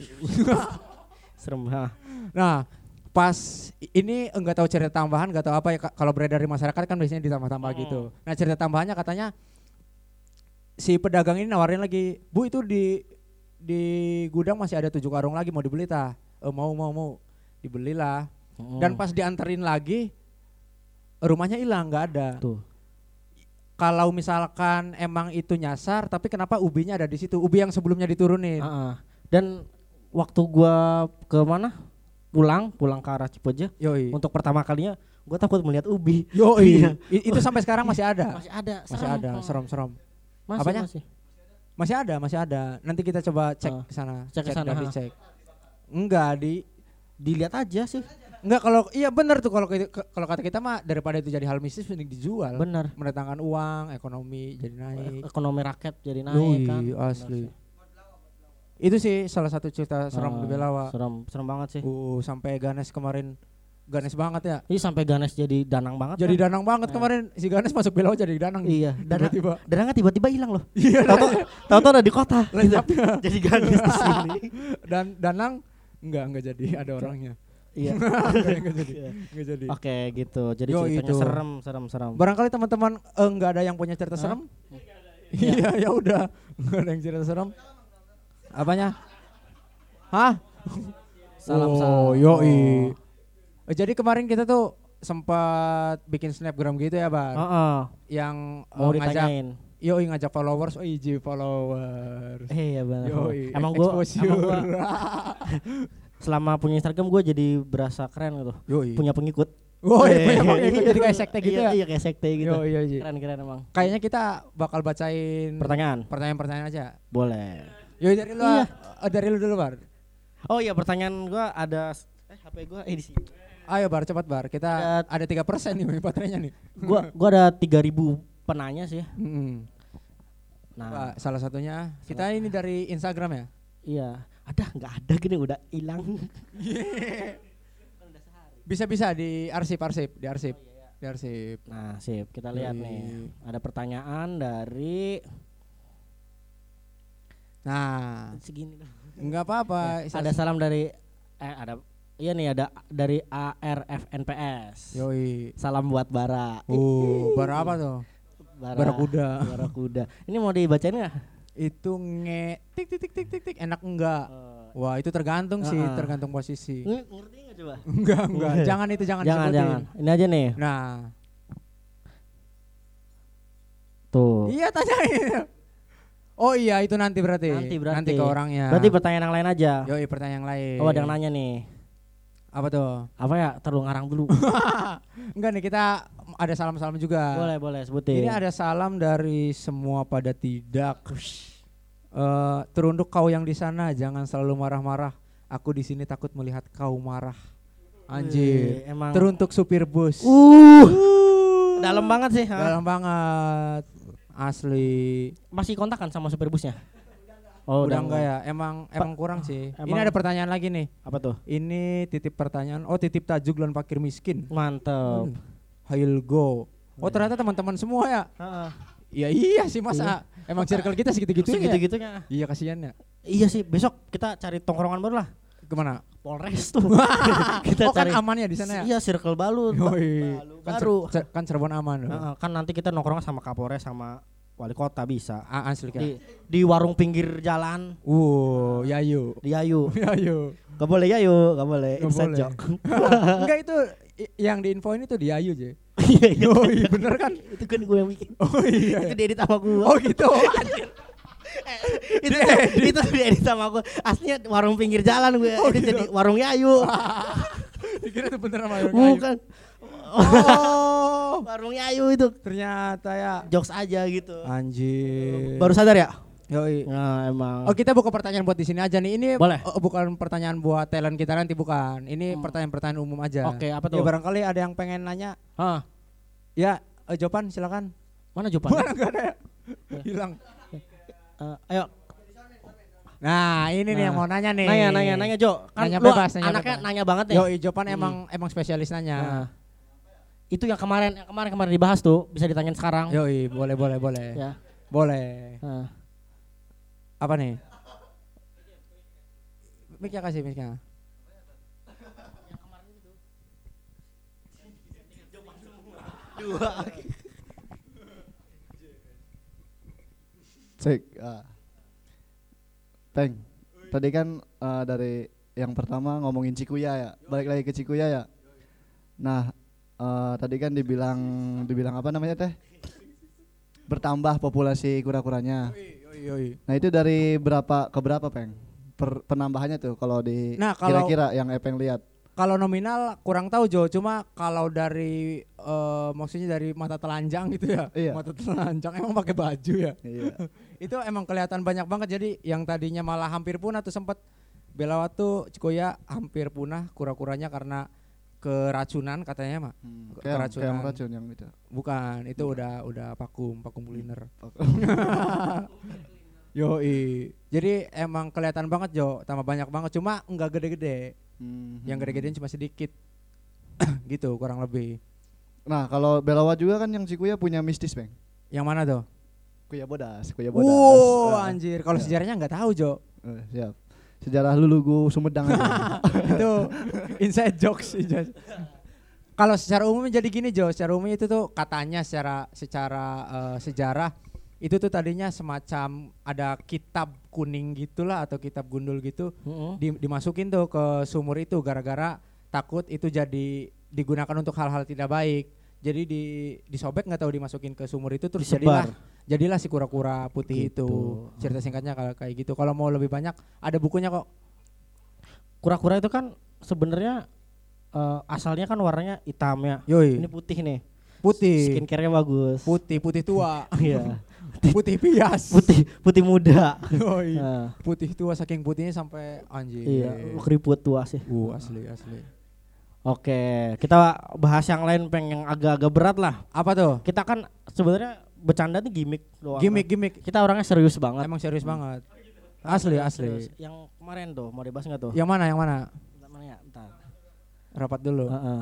Serem ha. Nah, pas i- ini enggak tahu cerita tambahan, enggak tahu apa ya, Kak. Kalau beredar di masyarakat kan biasanya ditambah-tambah Hmm. gitu. Nah, cerita tambahannya katanya si pedagang ini nawarin lagi, "Bu, itu di di gudang masih ada tujuh karung lagi, mau dibeli tah?" "Eh, mau mau mau." Dibelilah. Dan pas dianterin lagi rumahnya hilang, enggak ada. tuh. Kalau misalkan emang itu nyasar, tapi kenapa ubinya ada di situ? Ubi yang sebelumnya diturunin. Heeh. Dan waktu gua ke mana? Pulang, pulang ke arah Cipojo. Yoi. Untuk pertama kalinya gua takut melihat ubi. Yoi. Iya. I- itu sampai sekarang masih ada. Masih ada, Masih ada, serem-serem. Masih, Apanya? Masih. Masih ada, masih ada. Nanti kita coba cek Ah, ke sana, cek ke sana, dan ha. dicek. Enggak di Dilihat aja sih. enggak kalau iya benar tuh kalau ke- ke- kalau kata kita mah daripada itu jadi hal mistis mending dijual. Benar. Mendatangkan uang, ekonomi jadi naik. Ekonomi rakyat jadi naik Yoi, kan. asli. Itu sih salah satu cerita seram di Ah, Belawa. Serem, serem banget sih. Uh, sampai Ganes kemarin Ganes banget ya. Ini sampai Ganes jadi danang banget. Jadi kan? danang banget Nah. kemarin si Ganes masuk Belawa jadi danang. Iya, danang, tiba-tiba. danangnya tiba-tiba hilang loh. Iya. Tahu-tahu tahu-tahu ada di kota. Lenyapnya. Jadi Ganes di sini. Dan danang enggak enggak jadi ada orangnya. Iya. Enggak enggak jadi. Iya. Enggak jadi. Oke gitu. Jadi Yo, ceritanya itu. serem, serem, serem. Barangkali teman-teman eh, enggak ada yang punya cerita Hah? serem? Iya, ya udah. Enggak ada yang cerita serem. Apanya? Hah? Salam oh, salam. yoi. Eh, Jadi kemarin kita tuh sempat bikin snapgram gitu ya, Bar. Heeh. Yang eh, Mau ngajak ditanyain. yoi ngajak followers, oh iji followers. Eh, iya benar. Yoi, Emang gua, exposure. emang gua selama punya Instagram gua jadi berasa keren gitu. Yoi. Punya pengikut. Oh, iya, Eh, punya pengikut, jadi kayak sekte gitu iya, ya. Iya, kayak sekte gitu. Yoi, yoi. Keren keren emang. Kayaknya kita bakal bacain Pertanyaan. pertanyaan-pertanyaan aja. Boleh. Yoi dari lu, Iya. eh, dari lu dulu, Bar. Oh iya, pertanyaan gua ada eh H P gua eh di sini. Ayo Bar, cepat Bar. Kita Ada- ada tiga persen nih baterainya nih. Gua gua ada tiga ribu penanya sih. Mm-mm. Nah, Pak, salah satunya kita ini dari Instagram ya. iya. Ada nggak ada gini udah hilang. Bisa-bisa di arsip-arsip, di arsip. Di arsip. Nah, sip, kita lihat Yoi. nih. Ada pertanyaan dari Nah, segini dong. enggak apa-apa. Ada salam dari eh ada iya nih ada dari A R F N P S. Yoi. Salam buat Bara. Oh, bar apa tuh? Bara, Barakuda. Barakuda. Ini mau dibacain nggak? Itu nge tik tik tik tik tik tik enak enggak? Eh, Wah, itu tergantung sih, Uh-uh. tergantung posisi. Ini ngerti nggak coba? Enggak, enggak. Jangan itu jangan Jangan disebutin. jangan. Ini aja nih. Nah, Tuh. iya tanyain. Oh iya, itu nanti berarti. Nanti berarti. Nanti ke orangnya. Berarti pertanyaan yang lain aja. Yoi, pertanyaan yang lain. Oh, ada yang nanya nih. Apa tuh? Apa ya? Terlalu ngarang dulu. Enggak nih, kita ada salam-salam juga. boleh, boleh sebutin. Ini ada salam dari semua pada tidak. Eh, teruntuk kau yang di sana, jangan selalu marah-marah. Aku di sini takut melihat kau marah. Anjir. Wih, emang Teruntuk supir bus. Uh. Dalam banget sih. ha? Dalam banget. Asli. Masih kontak kan sama supir busnya? Oh, Udah enggak ya? Emang emang kurang sih. Ini emang- ada pertanyaan lagi nih. Apa tuh? Ini titip pertanyaan. Oh, titip tajuk lan fakir miskin. Mantep. Hail go. Oh, ternyata teman-teman semua ya. Heeh. Iya iya sih masa. Emang circle kita segitu-gitunya. ya? Segitu-gitunya. Iya kasihan ya. Iya sih, besok kita cari tongkrongan baru lah. Kemana? Polres tuh. Kita oh cari. Kan aman ya di sana ya? Iya, Circle Balut. Yoi. Balu, kan baru. Cer- kan Cirebon aman. Uh, kan nanti kita nongkrong sama Kapolres sama wali kota bisa. A- asli kan. Di, di warung pinggir jalan. Uh, Yayu. Di Yayu. Yayu. Gak boleh Yayu, gak boleh. Gak Inside boleh. joke. Enggak itu i- yang diinfoin itu di Yayu aja. Iya, iya. Oh iya bener kan? Itu kan gue yang bikin. Oh iya. Itu diedit sama gue. Oh gitu. itu itu diedit sama aku. Aslinya warung pinggir jalan gue. Oh, itu gitu. jadi warung Yayu. Dikira itu bener sama Yayu. Bukan. Oh, Warung Yayu itu. ternyata ya. Jokes aja gitu. Anjir. Baru sadar ya? Yoi. Nah, emang. Oh kita buka pertanyaan buat di sini aja nih. Ini Boleh. oh, bukan pertanyaan buat talent kita nanti bukan. Ini Hmm. pertanyaan-pertanyaan umum aja. Oke, apa tuh? Ya barangkali ada yang pengen nanya. Hah, Ya, eh, jawaban silakan. mana jawabannya? Mana enggak ada ya? Hilang. Eh, ayo. Nah, ini nih Nah. yang mau nanya nih. Nanya, nanya, nanya Jo. Kan Nanya lu bebas, nanya anaknya bebas. nanya banget nih. Yo, jawaban Hmm. emang emang spesialis nanya. Nah. Itu yang kemarin yang kemarin kemarin dibahas tuh bisa ditanyain sekarang. Yoi, boleh boleh boleh. Ya. Boleh. Nah. Apa nih? Mic-nya kasih mic-nya. Dua. Cek. Ah. Peng. Tadi kan uh, dari yang pertama ngomongin Cikuya ya. Balik lagi ke Cikuya ya. Nah, uh, tadi kan dibilang dibilang apa namanya teh? Bertambah populasi kura-kuranya. Yoi, yoi. Nah, itu dari berapa ke berapa, Peng? Per, penambahannya tuh kalau di Nah, kalau- kira-kira yang Epeng lihat. Kalau nominal kurang tahu Jo, cuma kalau dari eh, maksudnya dari mata telanjang gitu ya. Iya. Mata telanjang emang pakai baju ya. Iya. Itu emang kelihatan banyak banget, jadi yang tadinya malah hampir punah tuh sempat Belawatu Cikoya hampir punah kura-kuranya karena keracunan katanya mah. Hmm, Ke- kayak keracunan. kayak racun yang itu. Bukan, itu udah udah vakum, vakum kuliner. Yoi. Jadi emang kelihatan banget Jo, tambah banyak banget, cuma enggak gede-gede. Hmm, Yang hmm. gede-gedean cuma sedikit. Gitu kurang lebih. Nah, kalau Belawa juga kan yang Cikuya punya mistis, Peng. Yang mana tuh? Kuya Bodas, Kuya Bodas. Wow, Ah, anjir. Kalau Ya. sejarahnya nggak tahu Jo. eh, siap. Sejarah Lulugu Sumedang aja. Itu inside jokes. inside- Kalau secara umum jadi gini Jo, secara umum itu tuh katanya secara secara eh, sejarah itu tuh tadinya semacam ada kitab kuning gitulah atau kitab gundul gitu Heeh. di- dimasukin tuh ke sumur itu gara-gara takut itu jadi digunakan untuk hal-hal tidak baik. Jadi di disobek nggak tahu dimasukin ke sumur itu terus jadilah Disebar. jadilah si kura-kura putih Gitu. itu. Cerita singkatnya kalau kayak gitu. Kalau mau lebih banyak ada bukunya kok. Kura-kura itu kan sebenarnya eh, asalnya kan warnanya hitam ya. Yoi. Ini putih nih. Putih. Skincare-nya bagus. Putih, putih tua. Iya. Putih pias. Putih putih muda. Yoi. Nah, Putih tua saking putihnya sampai anjir. iya, keriput tua sih. Uh, asli asli. Oke, kita bahas yang lain Peng yang agak-agak berat lah. Apa tuh? Kita kan sebenarnya bercanda nih gimmick doang. Gimik kan. gimik. Kita orangnya serius banget. Emang serius banget. Asli asli. Serius. Yang kemarin tuh mau dibahas nggak tuh? Yang mana yang mana? Bentar, mana ya? Bentar. Rapat dulu. Heeh.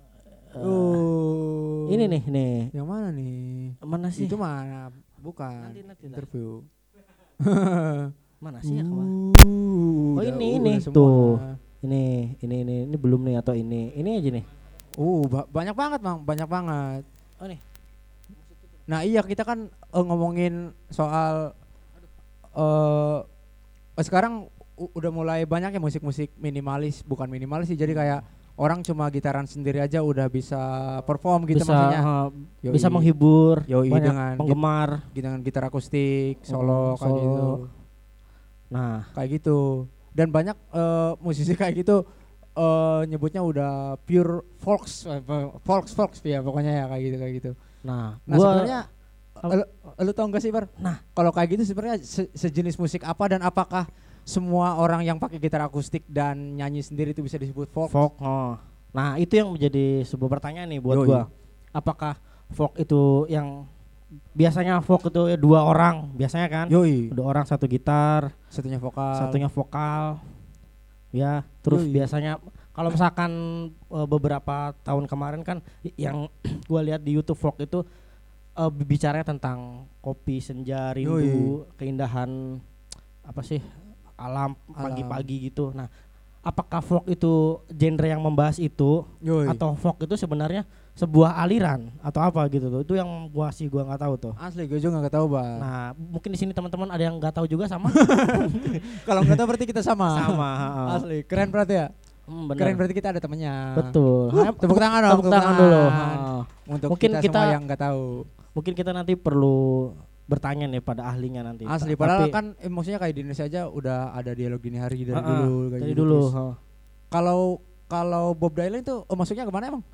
Uh. Ini nih, nih. Yang mana nih? Mana sih? Itu mana? Bukan. Nanti, nanti, Interview. Mana sih ya kemarin? Uh, Oh, udah- ini, udah ini, semua. tuh. Ini, ini, ini, ini belum nih atau ini? Ini aja nih. Uh, ba- banyak banget bang, banyak banget. Oh nih. Nah iya kita kan eh, ngomongin soal eh eh, sekarang u- udah mulai banyak ya musik-musik minimalis, bukan minimalis sih, jadi kayak orang cuma gitaran sendiri aja udah bisa perform gitu Bisa, maksudnya. uh, Yoi. bisa menghibur Yoi, banyak dengan penggemar. Dengan gitar akustik, Oh, solo kayak solo. gitu. Nah, Kayak gitu. Dan banyak eh, musisi kayak gitu eh nyebutnya udah pure folks, eh, folks folks ya pokoknya ya kayak gitu kayak gitu. nah, Nah gua sebenarnya lu, lu tau gak sih Bar? Nah. Kalau kayak gitu sebenarnya se- sejenis musik apa dan apakah semua orang yang pakai gitar akustik dan nyanyi sendiri itu bisa disebut folk? folk. Oh. Nah, itu yang menjadi sebuah pertanyaan nih buat Yoi. gua. Apakah folk itu yang biasanya folk itu ya dua orang, biasanya kan? Yoi. Dua orang satu gitar, Satunya vokal. satunya vokal. Ya, terus Yoi. biasanya kalau misalkan eh, beberapa tahun kemarin kan i- yang gua lihat di YouTube folk itu eh, bicaranya tentang kopi senja, rindu, keindahan apa sih alam Alam. pagi-pagi gitu. Nah, apakah folk itu genre yang membahas itu Yoi. atau folk itu sebenarnya sebuah aliran atau apa gitu tuh. Itu yang gua sih gua nggak tahu tuh. Asli gue juga nggak tahu bang. Nah, mungkin di sini teman-teman ada yang nggak tahu juga sama. Kalau nggak tahu berarti kita sama. Sama, heeh. Asli keren berarti ya. Hmm, bener. Keren berarti kita ada temennya. Betul. Uh, tepuk tangan dong. Tepuk tangan dulu. Ha. Untuk Mungkin kita, kita- semua yang nggak tahu. Mungkin kita nanti perlu bertanya nih pada ahlinya nanti. Asli Ta- padahal tapi- kan eh, maksudnya kayak di Indonesia aja udah ada dialog dini hari dari Ha-ha, dulu kayak dari gitu. dulu. Terus ha. Kalau kalau Bob Dylan itu oh, masuknya kemana emang?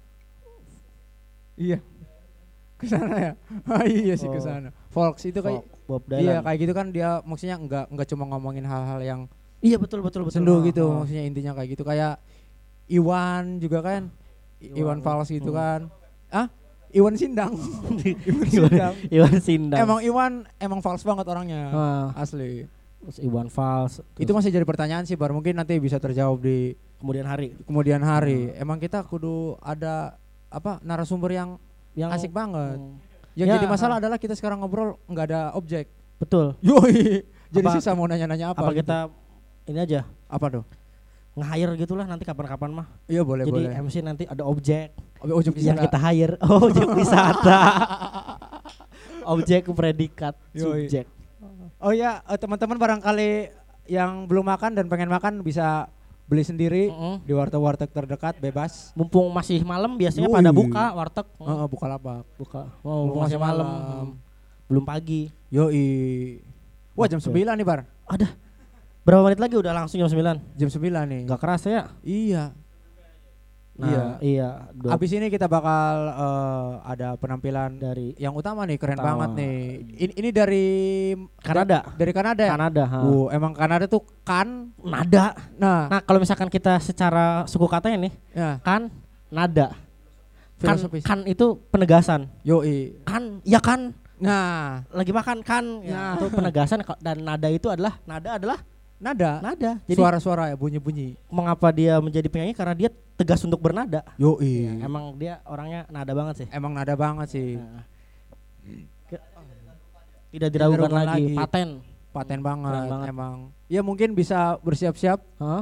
Iya. Ke sana ya. Ah, iya sih ke Oh. sana. Folks itu kayak Folk, Bob Dylan. iya kayak gitu kan dia maksudnya enggak enggak cuma ngomongin hal-hal yang Iya betul betul betul. sendu Ha, gitu, ha. maksudnya intinya kayak gitu kayak Iwan juga kan. I- Iwan Iwan. Fals gitu Hmm. kan. Ah? Iwan Sindang. Iwan Sindang. Iwan Sindang. Emang Iwan emang fals banget orangnya. Ah, Asli. terus Iwan Fals. Itu masih jadi pertanyaan sih, Bar. Mungkin nanti bisa terjawab di kemudian hari kemudian hari. Emang kita kudu ada apa narasumber yang yang asik banget. Hmm, Yang Ya, jadi masalah ha. adalah kita sekarang ngobrol nggak ada objek. betul. Yoi. Jadi Apa- susah mau nanya-nanya apa. Apa, gitu. kita ini aja apa tuh? nge-hire gitulah nanti kapan-kapan mah. Iya boleh Jadi boleh. M C nanti ada objek Ob- Objek yang wisata. kita hire. Oh, objek wisata. Objek predikat Yoi. subjek. Oh ya, eh, teman-teman barangkali yang belum makan dan pengen makan bisa beli sendiri Mm-mm. di warteg-warteg terdekat bebas. Mumpung masih malam biasanya Yoi. pada buka warteg. Heeh, buka lapak. Buka. Mumpung Oh, mumpung masih masih malam. malam. Belum pagi. Yoi. Wah, jam Oke. sembilan nih, Bar. Ada. Berapa menit lagi udah langsung jam sembilan? Jam sembilan nih. Enggak kerasa ya? Iya. Nah, iya. iya. dua- Abis ini kita bakal eh, ada penampilan dari yang utama nih, keren Utama. banget nih. Ini, ini dari Kanada. da- dari Kanada. ya? Kanada. ha. Uh, emang Kanada tuh kan. Nada. Nah, Nah, kalau misalkan kita secara suku katanya nih, ya, kan nada. Kan, filosofis. kan itu penegasan. Yoi. Kan, ya kan. Nah, Lagi makan kan. Nah. Ya, itu penegasan Ko- dan nada itu adalah nada adalah nada. nada. Jadi Suara-suara ya, bunyi-bunyi. mengapa dia menjadi penyanyi karena dia tegas untuk bernada. Yoi. Ya, emang dia orangnya nada banget sih. Emang nada banget sih. Nah. Ke- Tidak diragukan diragukan lagi. lagi. Paten. Paten banget, Keren banget. emang. Ya mungkin bisa bersiap-siap. Hah?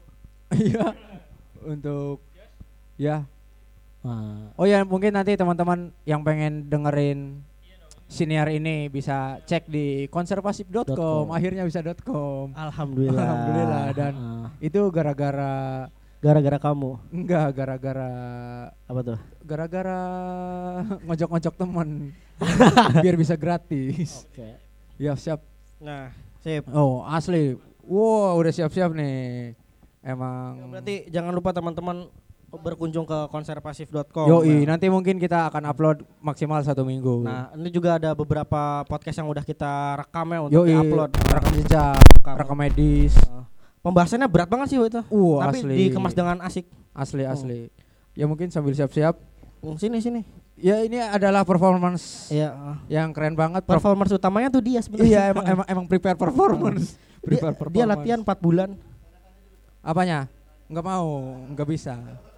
Iya. Untuk ya. Nah, Oh ya, mungkin nanti teman-teman yang pengen dengerin siniar ini bisa cek di konservasif dot com, .com. akhirnya bisa .com. Alhamdulillah. Alhamdulillah, dan Ah, itu gara-gara gara-gara kamu enggak gara-gara apa tuh? gara-gara ngojok-ngojok temen biar bisa gratis. Oke. Ya siap. Nah, sip. Oh asli. Wow udah siap-siap nih. Emang. Berarti jangan lupa teman-teman berkunjung ke konservasif dot com. Yoi, Nah, nanti mungkin kita akan upload maksimal satu minggu. Nah, ini juga ada beberapa podcast yang udah kita rekam ya untuk Yoi, diupload. rekam jejak, Rekam. rekam medis. Uh, Pembahasannya berat banget sih itu. Uh, Tapi asli. dikemas dengan asik. Asli Oh. asli. Ya mungkin sambil siap-siap. Hmm, Sini sini. Ya ini adalah performance Iya. uh, yang keren banget. Per- Performance utamanya tuh dia sebenarnya. iya emang, emang emang prepare performance. Dia, Prepare dia performance. latihan empat bulan. Apanya? Enggak mau, enggak bisa.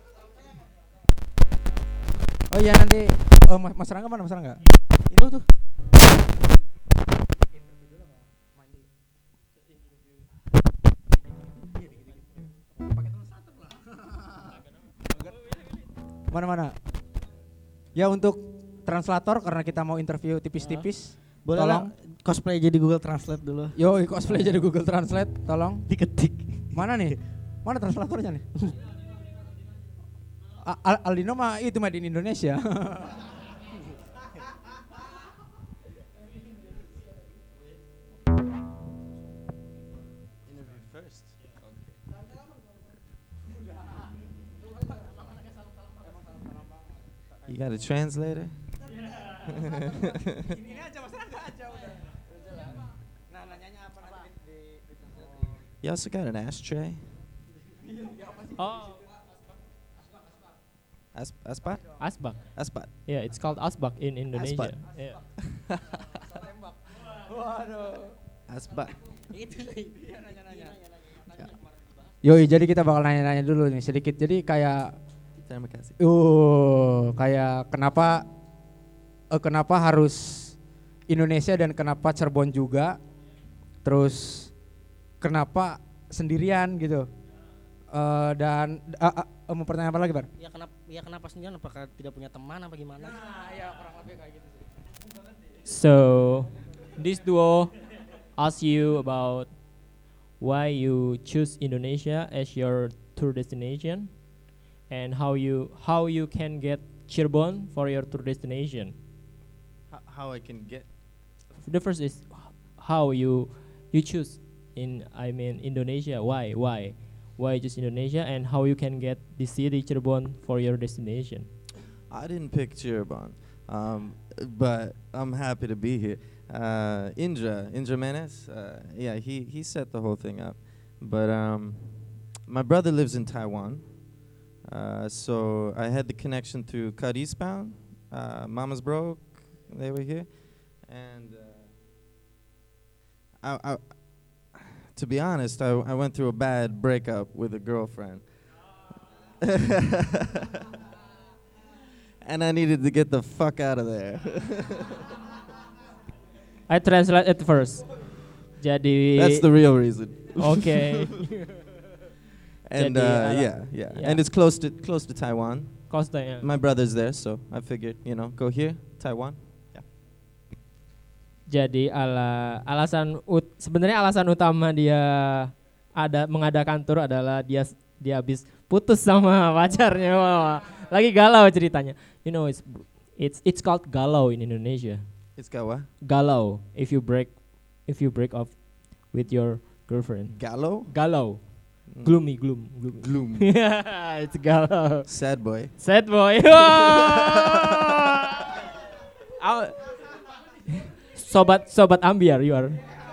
Oh iya nanti oh, Mas, Mas Rangga mana Mas Rangga? Itu tuh. Mana-mana? Ya untuk translator karena kita mau interview tipis-tipis. Boleh Tolong. lah cosplay jadi Google Translate dulu. Yo cosplay jadi Google Translate, tolong. Diketik. Mana nih? Mana translatornya nih? A- Al- Aldino mah itu mah di Indonesia. You got a translator? Ini aja Mas Rangga aja udah. Nah, nanyanya apa nanti di, di, di You also got an ashtray? Oh, As- aspat? asbak. Aspat. Yeah, it's called asbak in Indonesia. Asbak. Yeah. Waduh. Aspat. Yoi, jadi kita bakal nanya-nanya dulu nih sedikit. Jadi kayak Terima kasih. uh kayak kenapa eh, kenapa harus Indonesia dan kenapa Cirebon juga? Terus kenapa sendirian gitu? Eh, dan uh, uh, mau pertanyaan apa lagi, Bar? Ya kenapa ya kenapa sendirian, apakah tidak punya teman apa gimana? Nah, ya kurang lebih kayak gitu sih. So, this duo ask you about why you choose Indonesia as your tour destination and how you how you can get Cirebon for your tour destination. How, how I can get? The first is how you you choose in I mean Indonesia. Why why why just Indonesia, and how you can get the city Cirebon for your destination. I didn't pick Cirebon, um, but I'm happy to be here. Uh, Indra, Indra Menes, uh, yeah, he, he set the whole thing up. But um, my brother lives in Taiwan, uh, so I had the connection through Cut Eastbound, uh, Mama's Broke, they were here, and uh, I, I, to be honest, I, I went through a bad breakup with a girlfriend. And I needed to get the fuck out of there. I translate it first. Jadi That's the real reason. okay. And Jadi, uh, ala- yeah, yeah, yeah. and it's close to close to Taiwan. Costa ya. My brother's there, so I figured, you know, go here, Taiwan. Jadi ala alasan ut, sebenarnya alasan utama dia ada mengadakan tur adalah dia dia habis putus sama pacarnya. Wah, lagi galau ceritanya. You know it's it's it's called galau in Indonesia. It's got what? Galau if you break if you break off with your girlfriend. Gallo? Galau. Mm. Gloomy, gloom, gloomy. Gloom. It's galau. Sad boy. Sad boy. Au- Sobat sobat ambiar you are.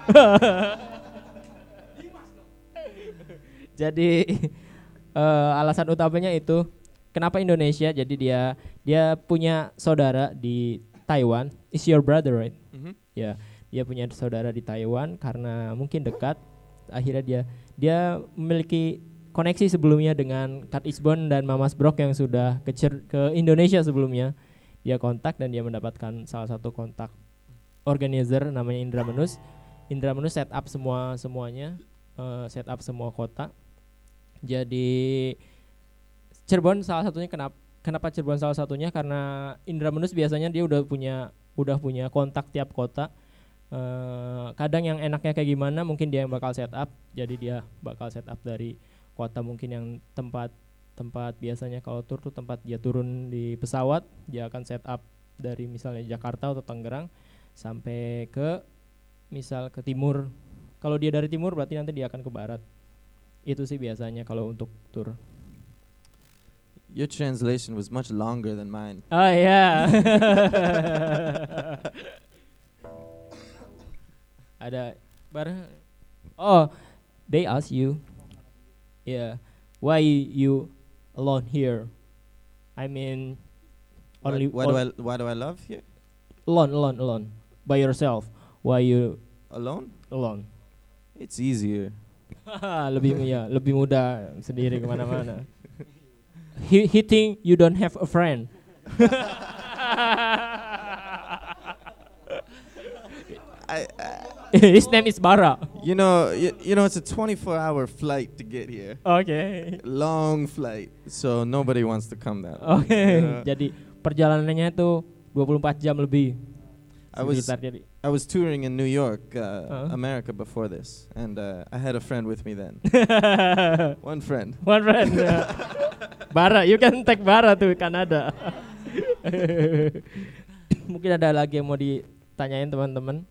Jadi uh, alasan utamanya itu kenapa Indonesia? Jadi dia dia punya saudara di Taiwan. Is your brother, right? Mm-hmm. Ya, dia punya saudara di Taiwan karena mungkin dekat. Akhirnya dia dia memiliki koneksi sebelumnya dengan Kat Isbon dan Mamas Brok yang sudah ke, Cer- ke Indonesia sebelumnya. Dia kontak dan dia mendapatkan salah satu kontak organizer namanya Indra Menus. Indra Menus set up semua semuanya, uh, set up semua kota. Jadi Cirebon salah satunya kenapa kenapa Cirebon salah satunya karena Indra Menus biasanya dia udah punya udah punya kontak tiap kota. Uh, kadang yang enaknya kayak gimana mungkin dia yang bakal set up. Jadi dia bakal set up dari kota mungkin yang tempat tempat biasanya kalau tur tuh tempat dia turun di pesawat, dia akan set up dari misalnya Jakarta atau Tangerang sampai ke misal ke timur. Kalau dia dari timur berarti nanti dia akan ke barat. Itu sih biasanya kalau untuk tur. Your translation was much longer than mine. Oh ya. Ada bar. Oh, they ask you. Yeah, why you alone here? I mean, only Why, why do I on- why do I love here? alone, alone, alone, by yourself. Why you Alone? alone? It's easier. lebih ya, lebih mudah sendiri kemana-mana. He he think you don't have a friend. I, I His name is Bara. you know you, you know it's a twenty-four hour flight to get here. Oke. Long flight, so nobody wants to come that. Oke. Yeah. Jadi perjalanannya itu dua puluh empat jam lebih. I was Sekitar jadi. I was touring in New York, uh, Uh-huh. America before this, and uh, I had a friend with me then. One friend. One friend. ya. Bara, you can take Bara tuh Kanada. Mungkin ada lagi yang mau ditanyain teman-teman.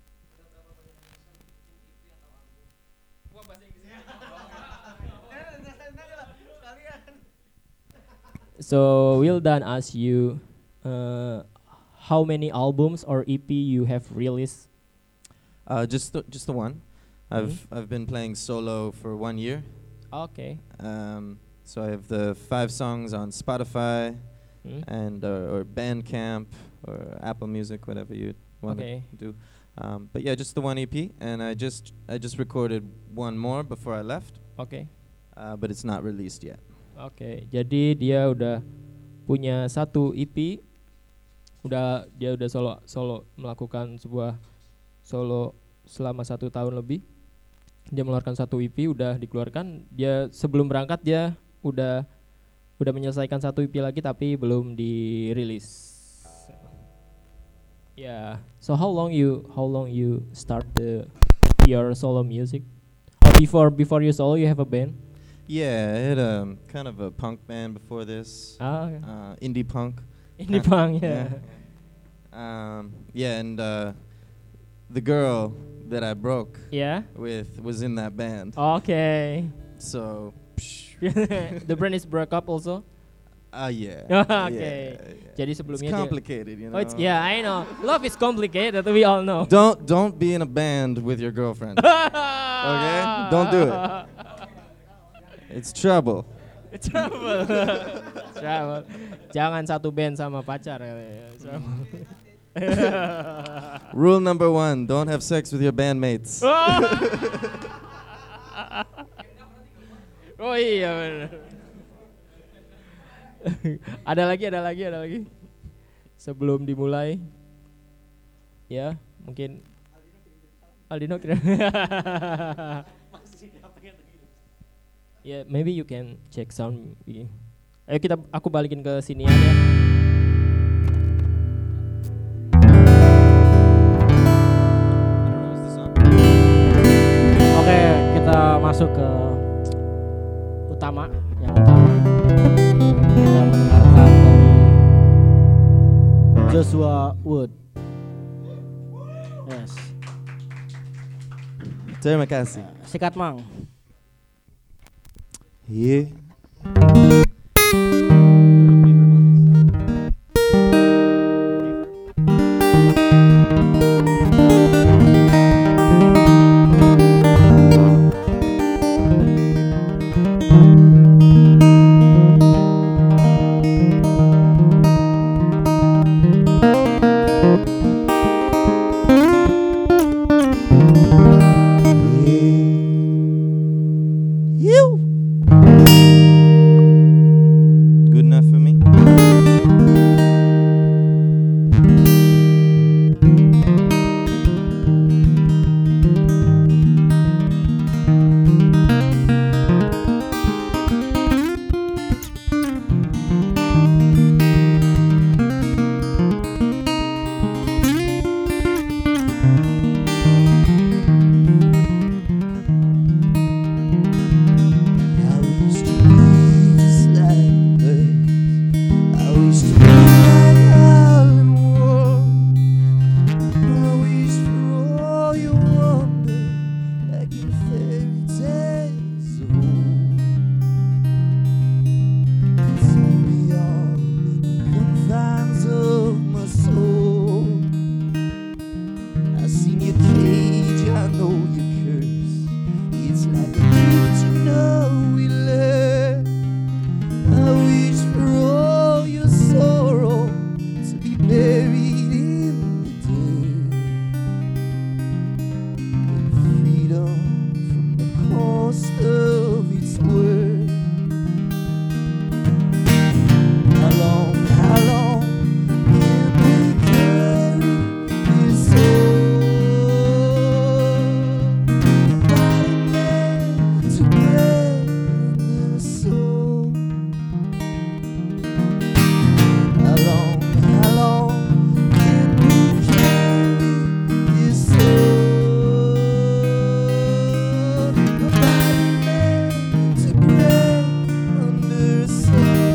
So Wildan ask you, uh, how many albums or E P you have released? Uh, just the, just the one. I've I've been playing solo for one year. Okay. Um, so I have the five songs on Spotify Hmm? and uh, or Bandcamp or Apple Music, whatever you want Okay. to do. Um, but yeah, just the one E P, and I just I just recorded one more before I left, Oke. uh, but it's not released yet. Oke, jadi dia udah punya satu E P, udah dia udah solo solo melakukan sebuah solo selama satu tahun lebih. Dia mengeluarkan satu E P, udah dikeluarkan. Dia sebelum berangkat dia udah udah menyelesaikan satu E P lagi tapi belum dirilis. Yeah. So how long you how long you start the your solo music? Or before before you solo you have a band? Yeah, I had um, kind of a punk band before this. Ah, okay. Uh, indie punk. Indie Kinda- punk, yeah. Um, yeah, and uh, the girl that I broke Yeah. with was in that band. Okay. So, The brand is broke up also. uh, yeah. Okay. Yeah, yeah. Jadi It's sebelumnya dia. complicated, you know. Oh, it's, yeah, I know. Love is complicated. We all know. Don't don't be in a band with your girlfriend. Okay? Don't do it. It's trouble. Trouble. Trouble. Jangan satu band sama pacar. Ya. Trouble. Rule number one: don't have sex with your bandmates. Oh iya benar. Ada lagi, ada lagi, ada lagi. Sebelum dimulai, ya mungkin Aldino kira. Ya, yeah, maybe you can check sound. Ayo kita, aku balikin ke sini aja. Oke, kita masuk ke utama, yang utama. Kita mendengarkan dari Joshua Wood. Yes. Terima kasih. Sikat Mang. Yeah. Good enough for me? I wish to be just like birds. I wish to be like Alan Moore. I wish for all your wonder, like in fairy tales of old. Take me on the confines of my soul. I seen your cage, I know your curse. It's like a gift you know we learn. I wish for all your sorrow to be buried in the dirt. In freedom from the cost of its worth. How long, how long can we carry this soul? Body made to break the soul. How long, how long can we carry this soul? Body made to break under soul.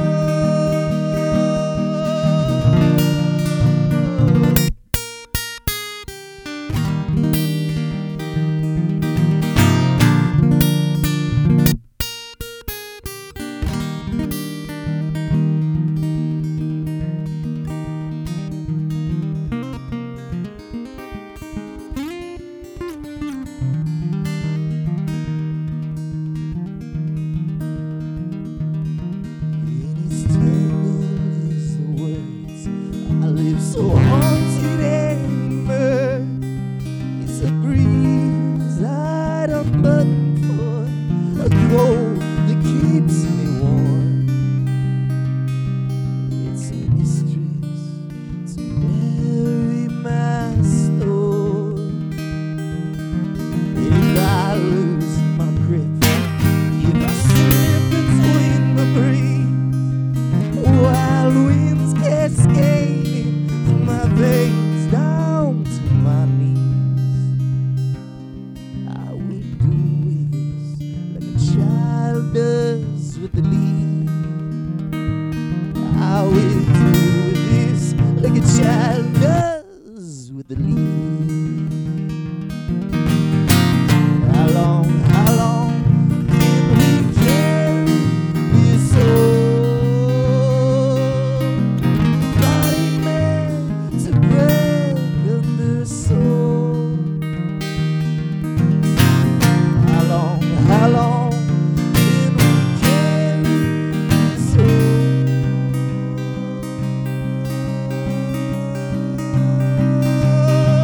In its tangle is the words I live so haunted and burned. It's a breeze I don't button for, a cold that keeps me warm. It's a mistress to bury my store. If I with the lead. How we do this like a child does with the lead. How long, how long can we carry this old body man to broken the soul? How long, how long can we carry this old?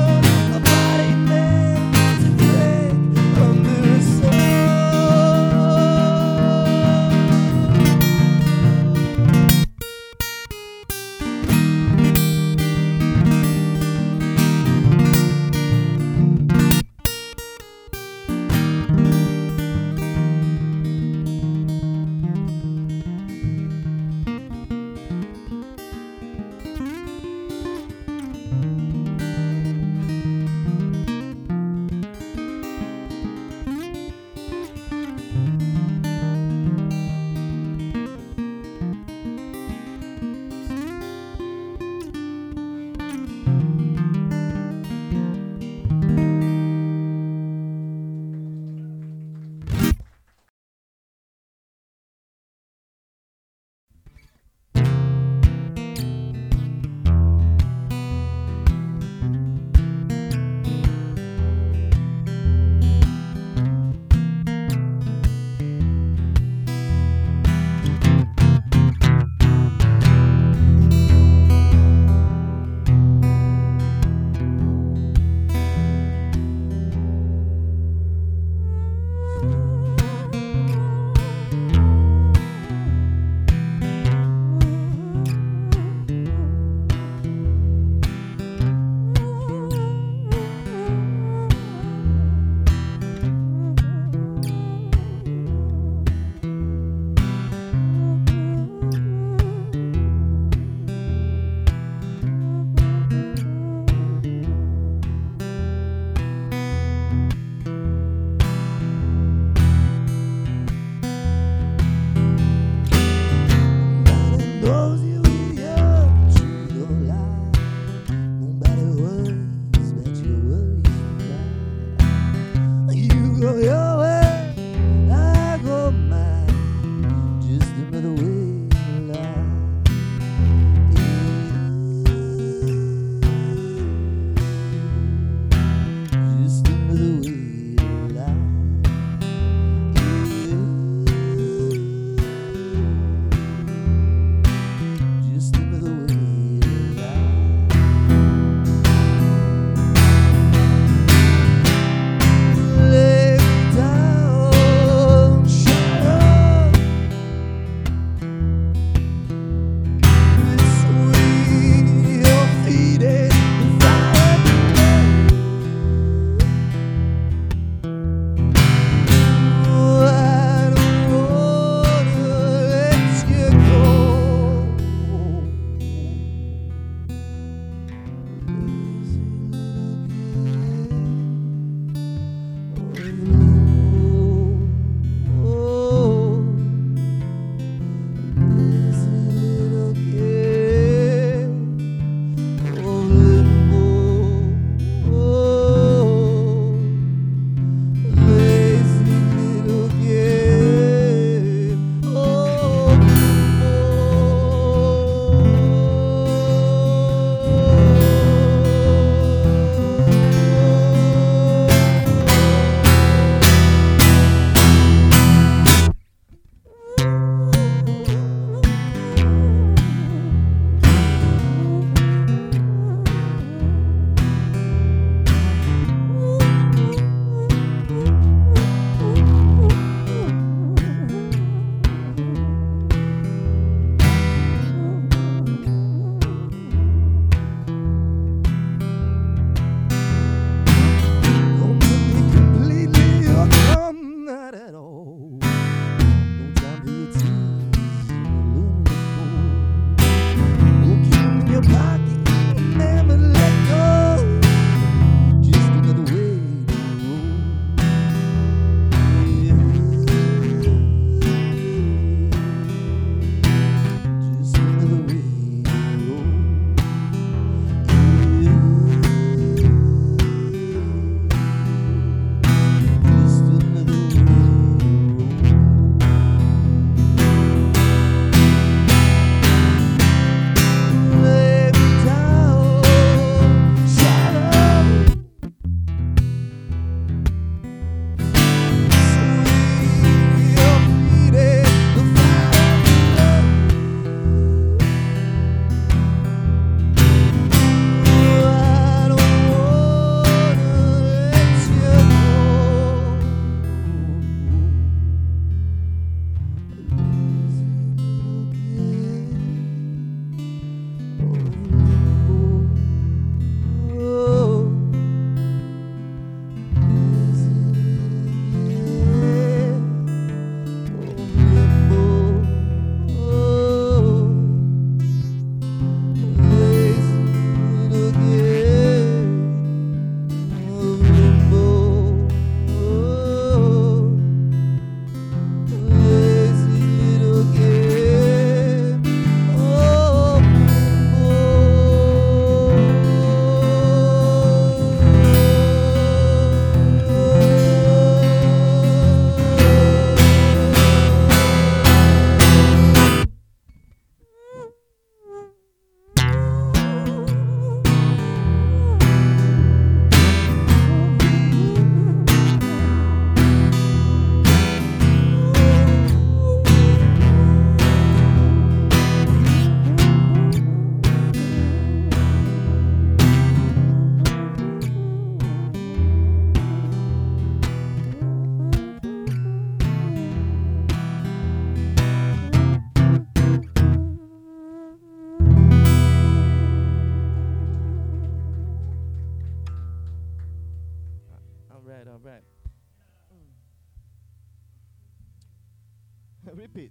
Repeat.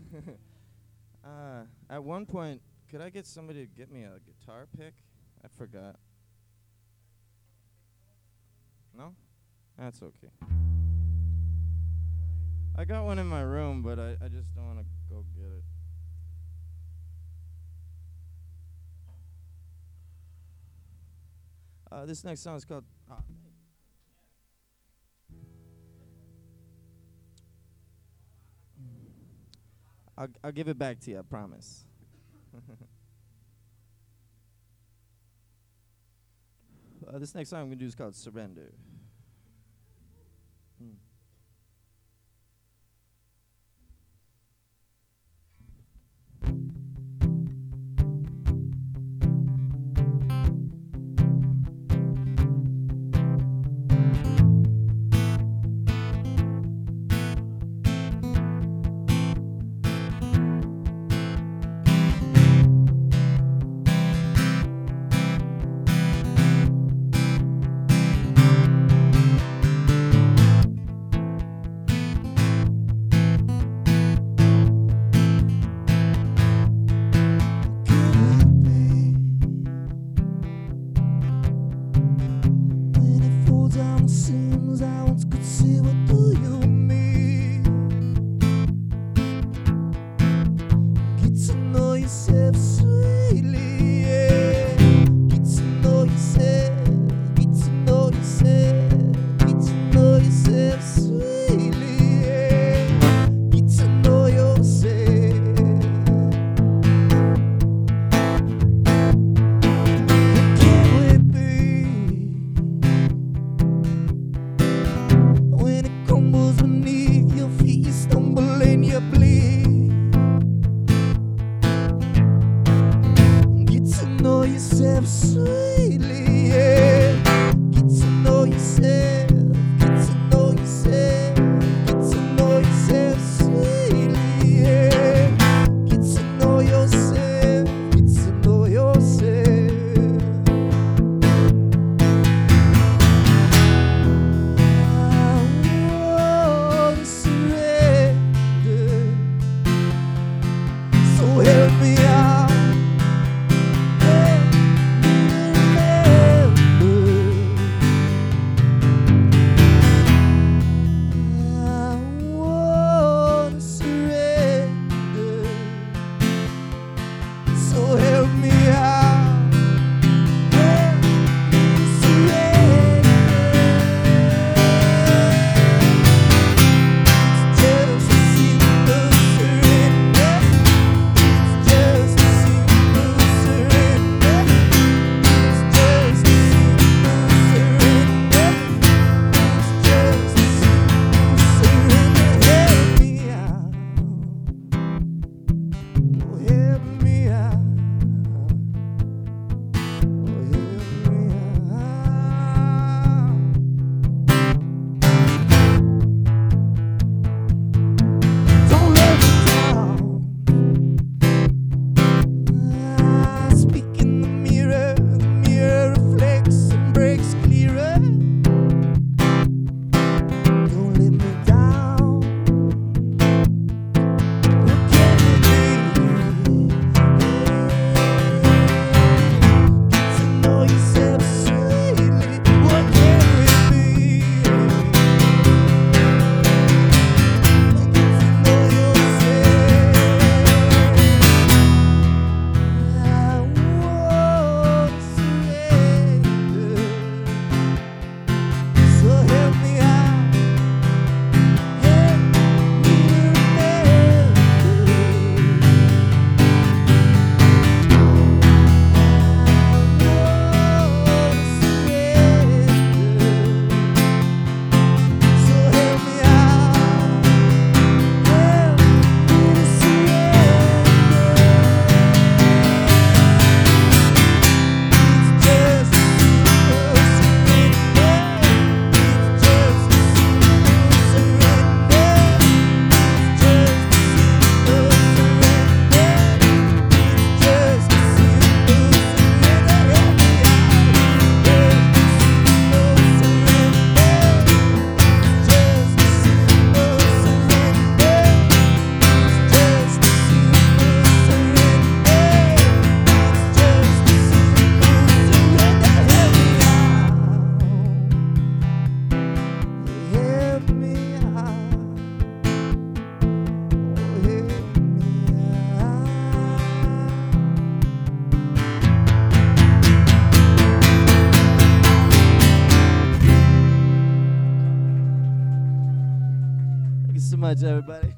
uh, at one point, could I get somebody to get me a guitar pick? I forgot. No? That's okay. I got one in my room, but I, I just don't want to go get it. Uh, this next song is called... Uh, I'll, I'll give it back to you, I promise. uh, this next song I'm going to do is called Surrender. Mm. so much, everybody.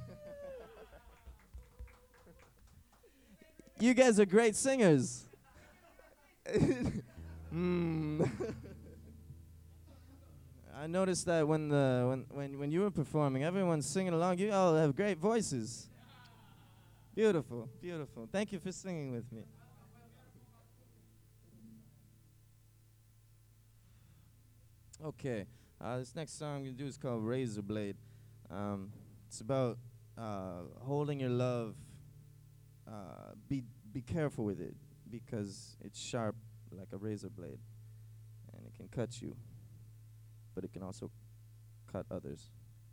You guys are great singers. mm. I noticed that when the when, when when you were performing, everyone's singing along. You all have great voices. Beautiful, beautiful. Thank you for singing with me. Okay, uh, this next song I'm gonna do is called Razor Blade. Um, it's about uh, holding your love. Uh, be be careful with it because it's sharp like a razor blade, and it can cut you, but it can also cut others.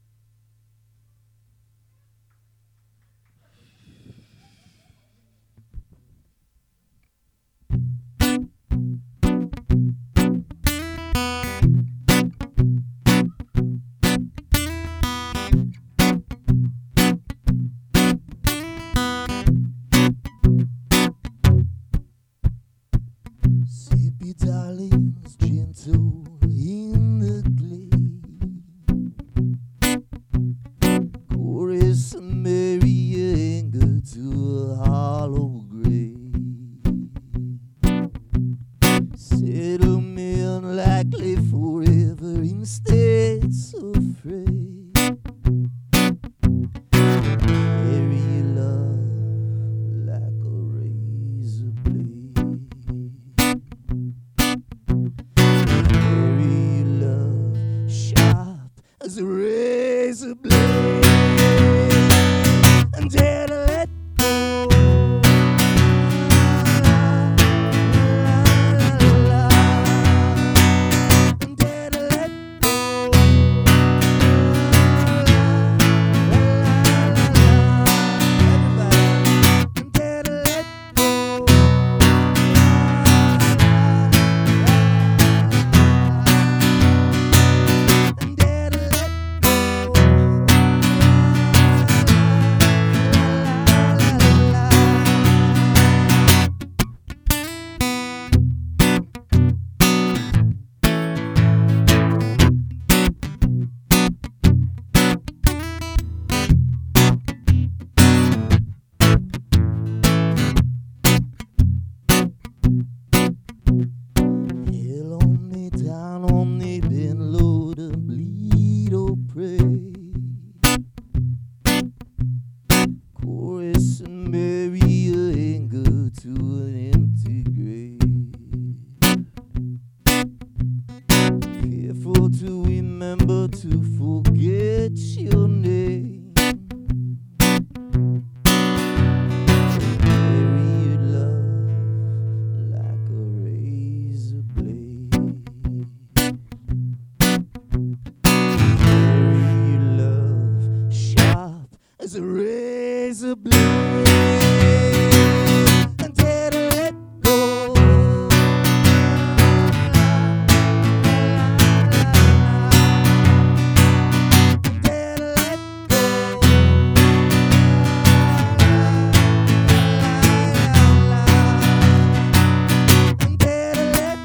Sippy darlings, gentle in the glade. Chorus and merry anger to a hollow grave. Settlement likely forever instead so afraid. Carry your love like a razor blade. Carry your love sharp as a razor blade. And dare to let go. And dare to let go. Everybody. And dare to let go. And dare to let Hell on me, down on me, been low to bleed or pray. Chorus and merry anger to an empty grave. Careful to remember to forget your name. Carry your love like a razor blade. Carry your love sharp as a razor blade. And dare to let go. And dare to let go. And dare to let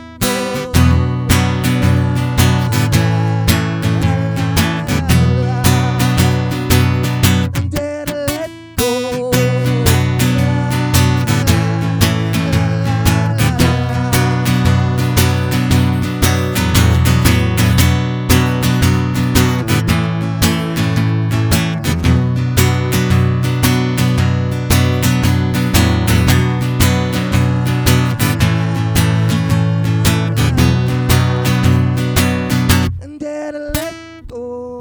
go. And dare to let go. And dare to let go.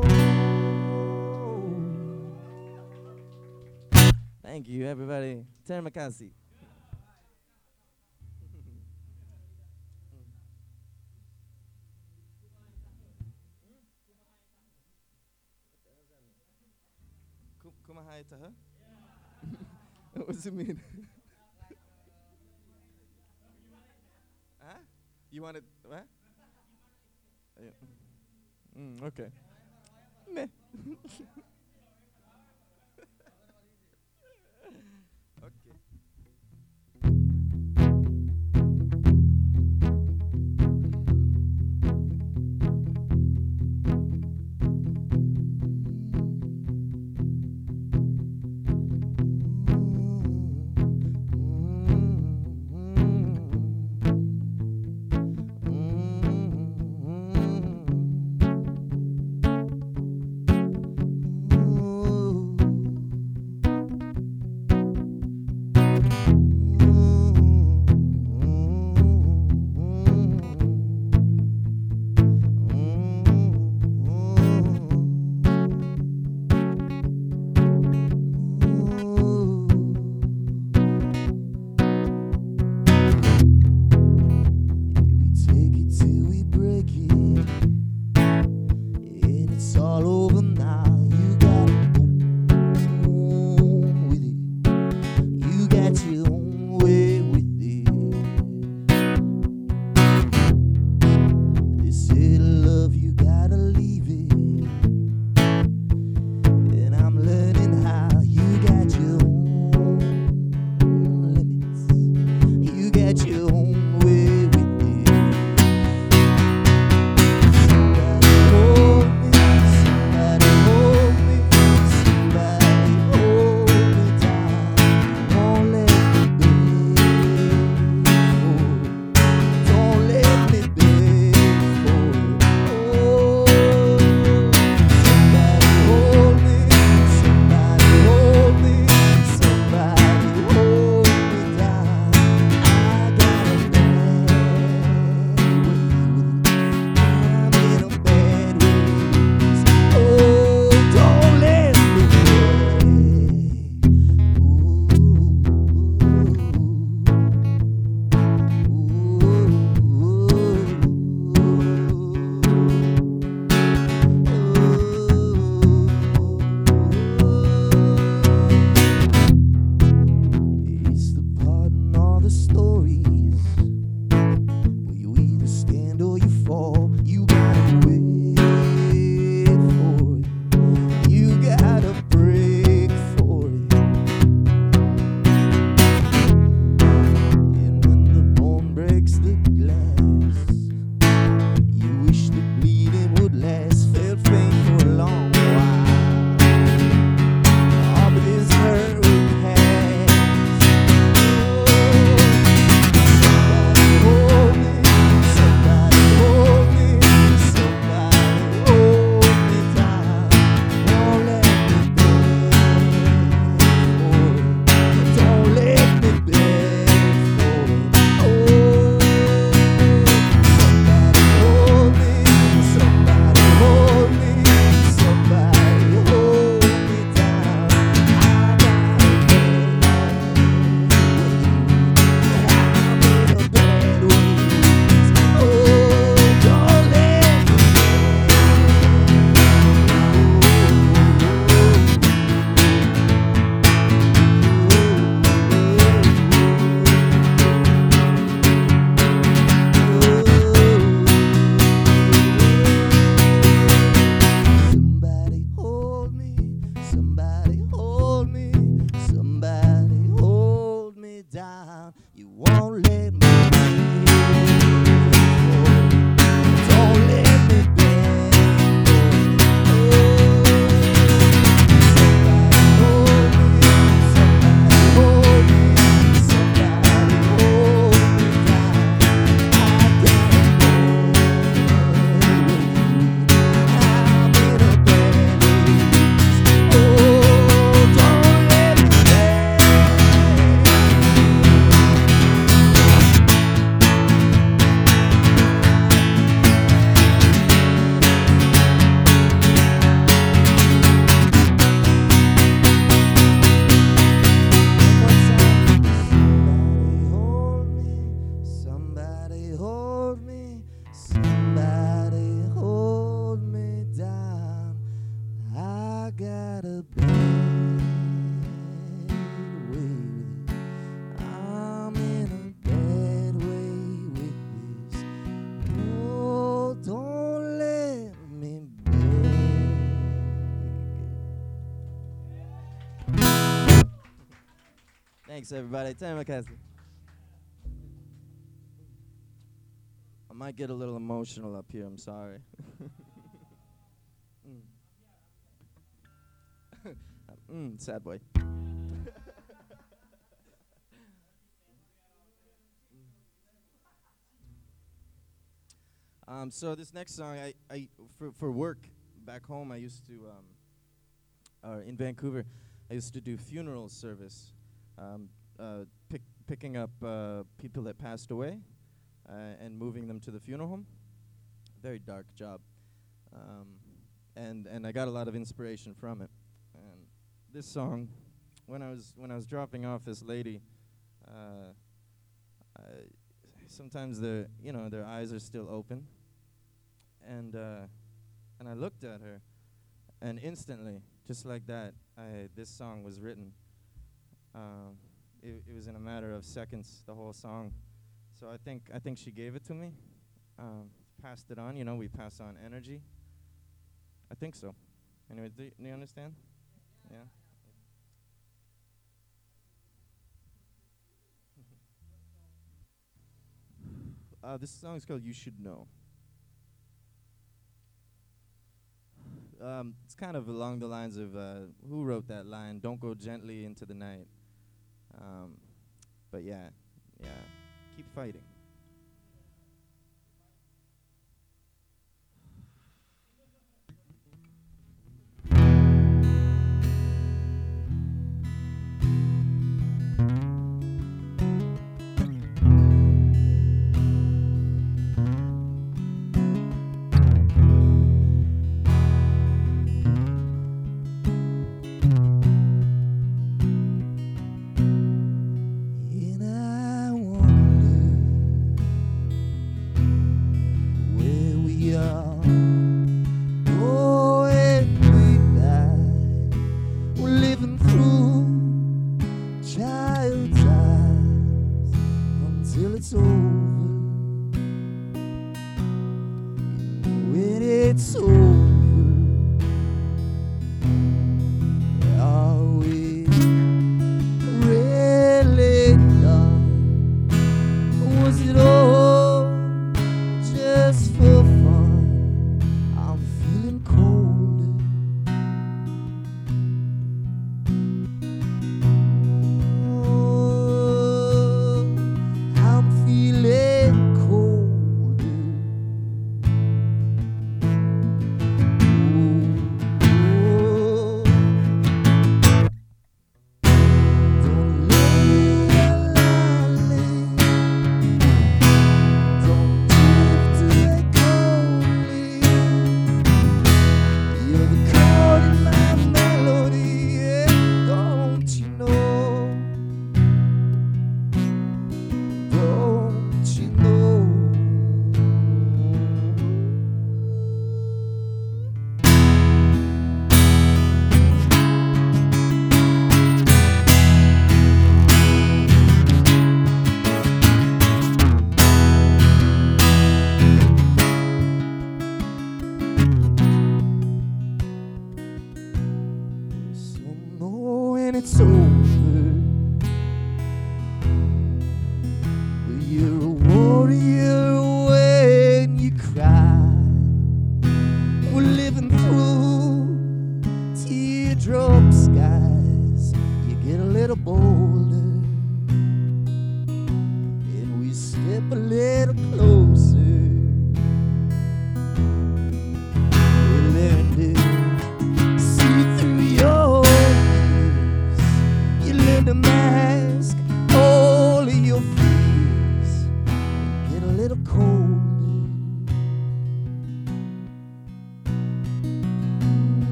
Thank you, everybody. Terima kasih. Ku- Kumahai taha? What does it mean? Huh? You wanted what? Yeah. Mm, okay. Meh. Okay. got a bad way with it. I'm in a bad way with this. Oh, don't let me beg. Thanks, everybody. Tamara Cassidy. I might get a little emotional up here. I'm sorry. mm. mm, sad boy. um, so this next song, I, I for for work back home, I used to um, uh, in Vancouver, I used to do funeral service, um, uh, pick, picking up uh, people that passed away. Uh, and moving them to the funeral home. Very dark job. Um, and and I got a lot of inspiration from it. And this song, when I was when I was dropping off this lady, uh, I sometimes their you know their eyes are still open. And uh, and I looked at her, and instantly, just like that, I this song was written. Um, it, it was in a matter of seconds, the whole song. So I think I think she gave it to me, um, passed it on. You know, we pass on energy. I think so. Anyway, do, y- do you understand? Yeah. uh, this song is called "You Should Know." Um, it's kind of along the lines of uh, who wrote that line? "Don't go gently into the night." Um, but yeah, yeah. Keep fighting. And I wonder where we are going tonight. We're living through child's eyes until it's over. And when it's over, are we really done? Was it all just for fun? I'm feeling colder. Oh, I'm feeling colder. Oh, don't lay lonely. Don't drift away coldly. You're the chord in my melody, yeah. Don't you know? Don't you know? So know when it's over, but you're a warrior when you cry. We're living through teardrop skies. You get a little bolder, and we step a little closer.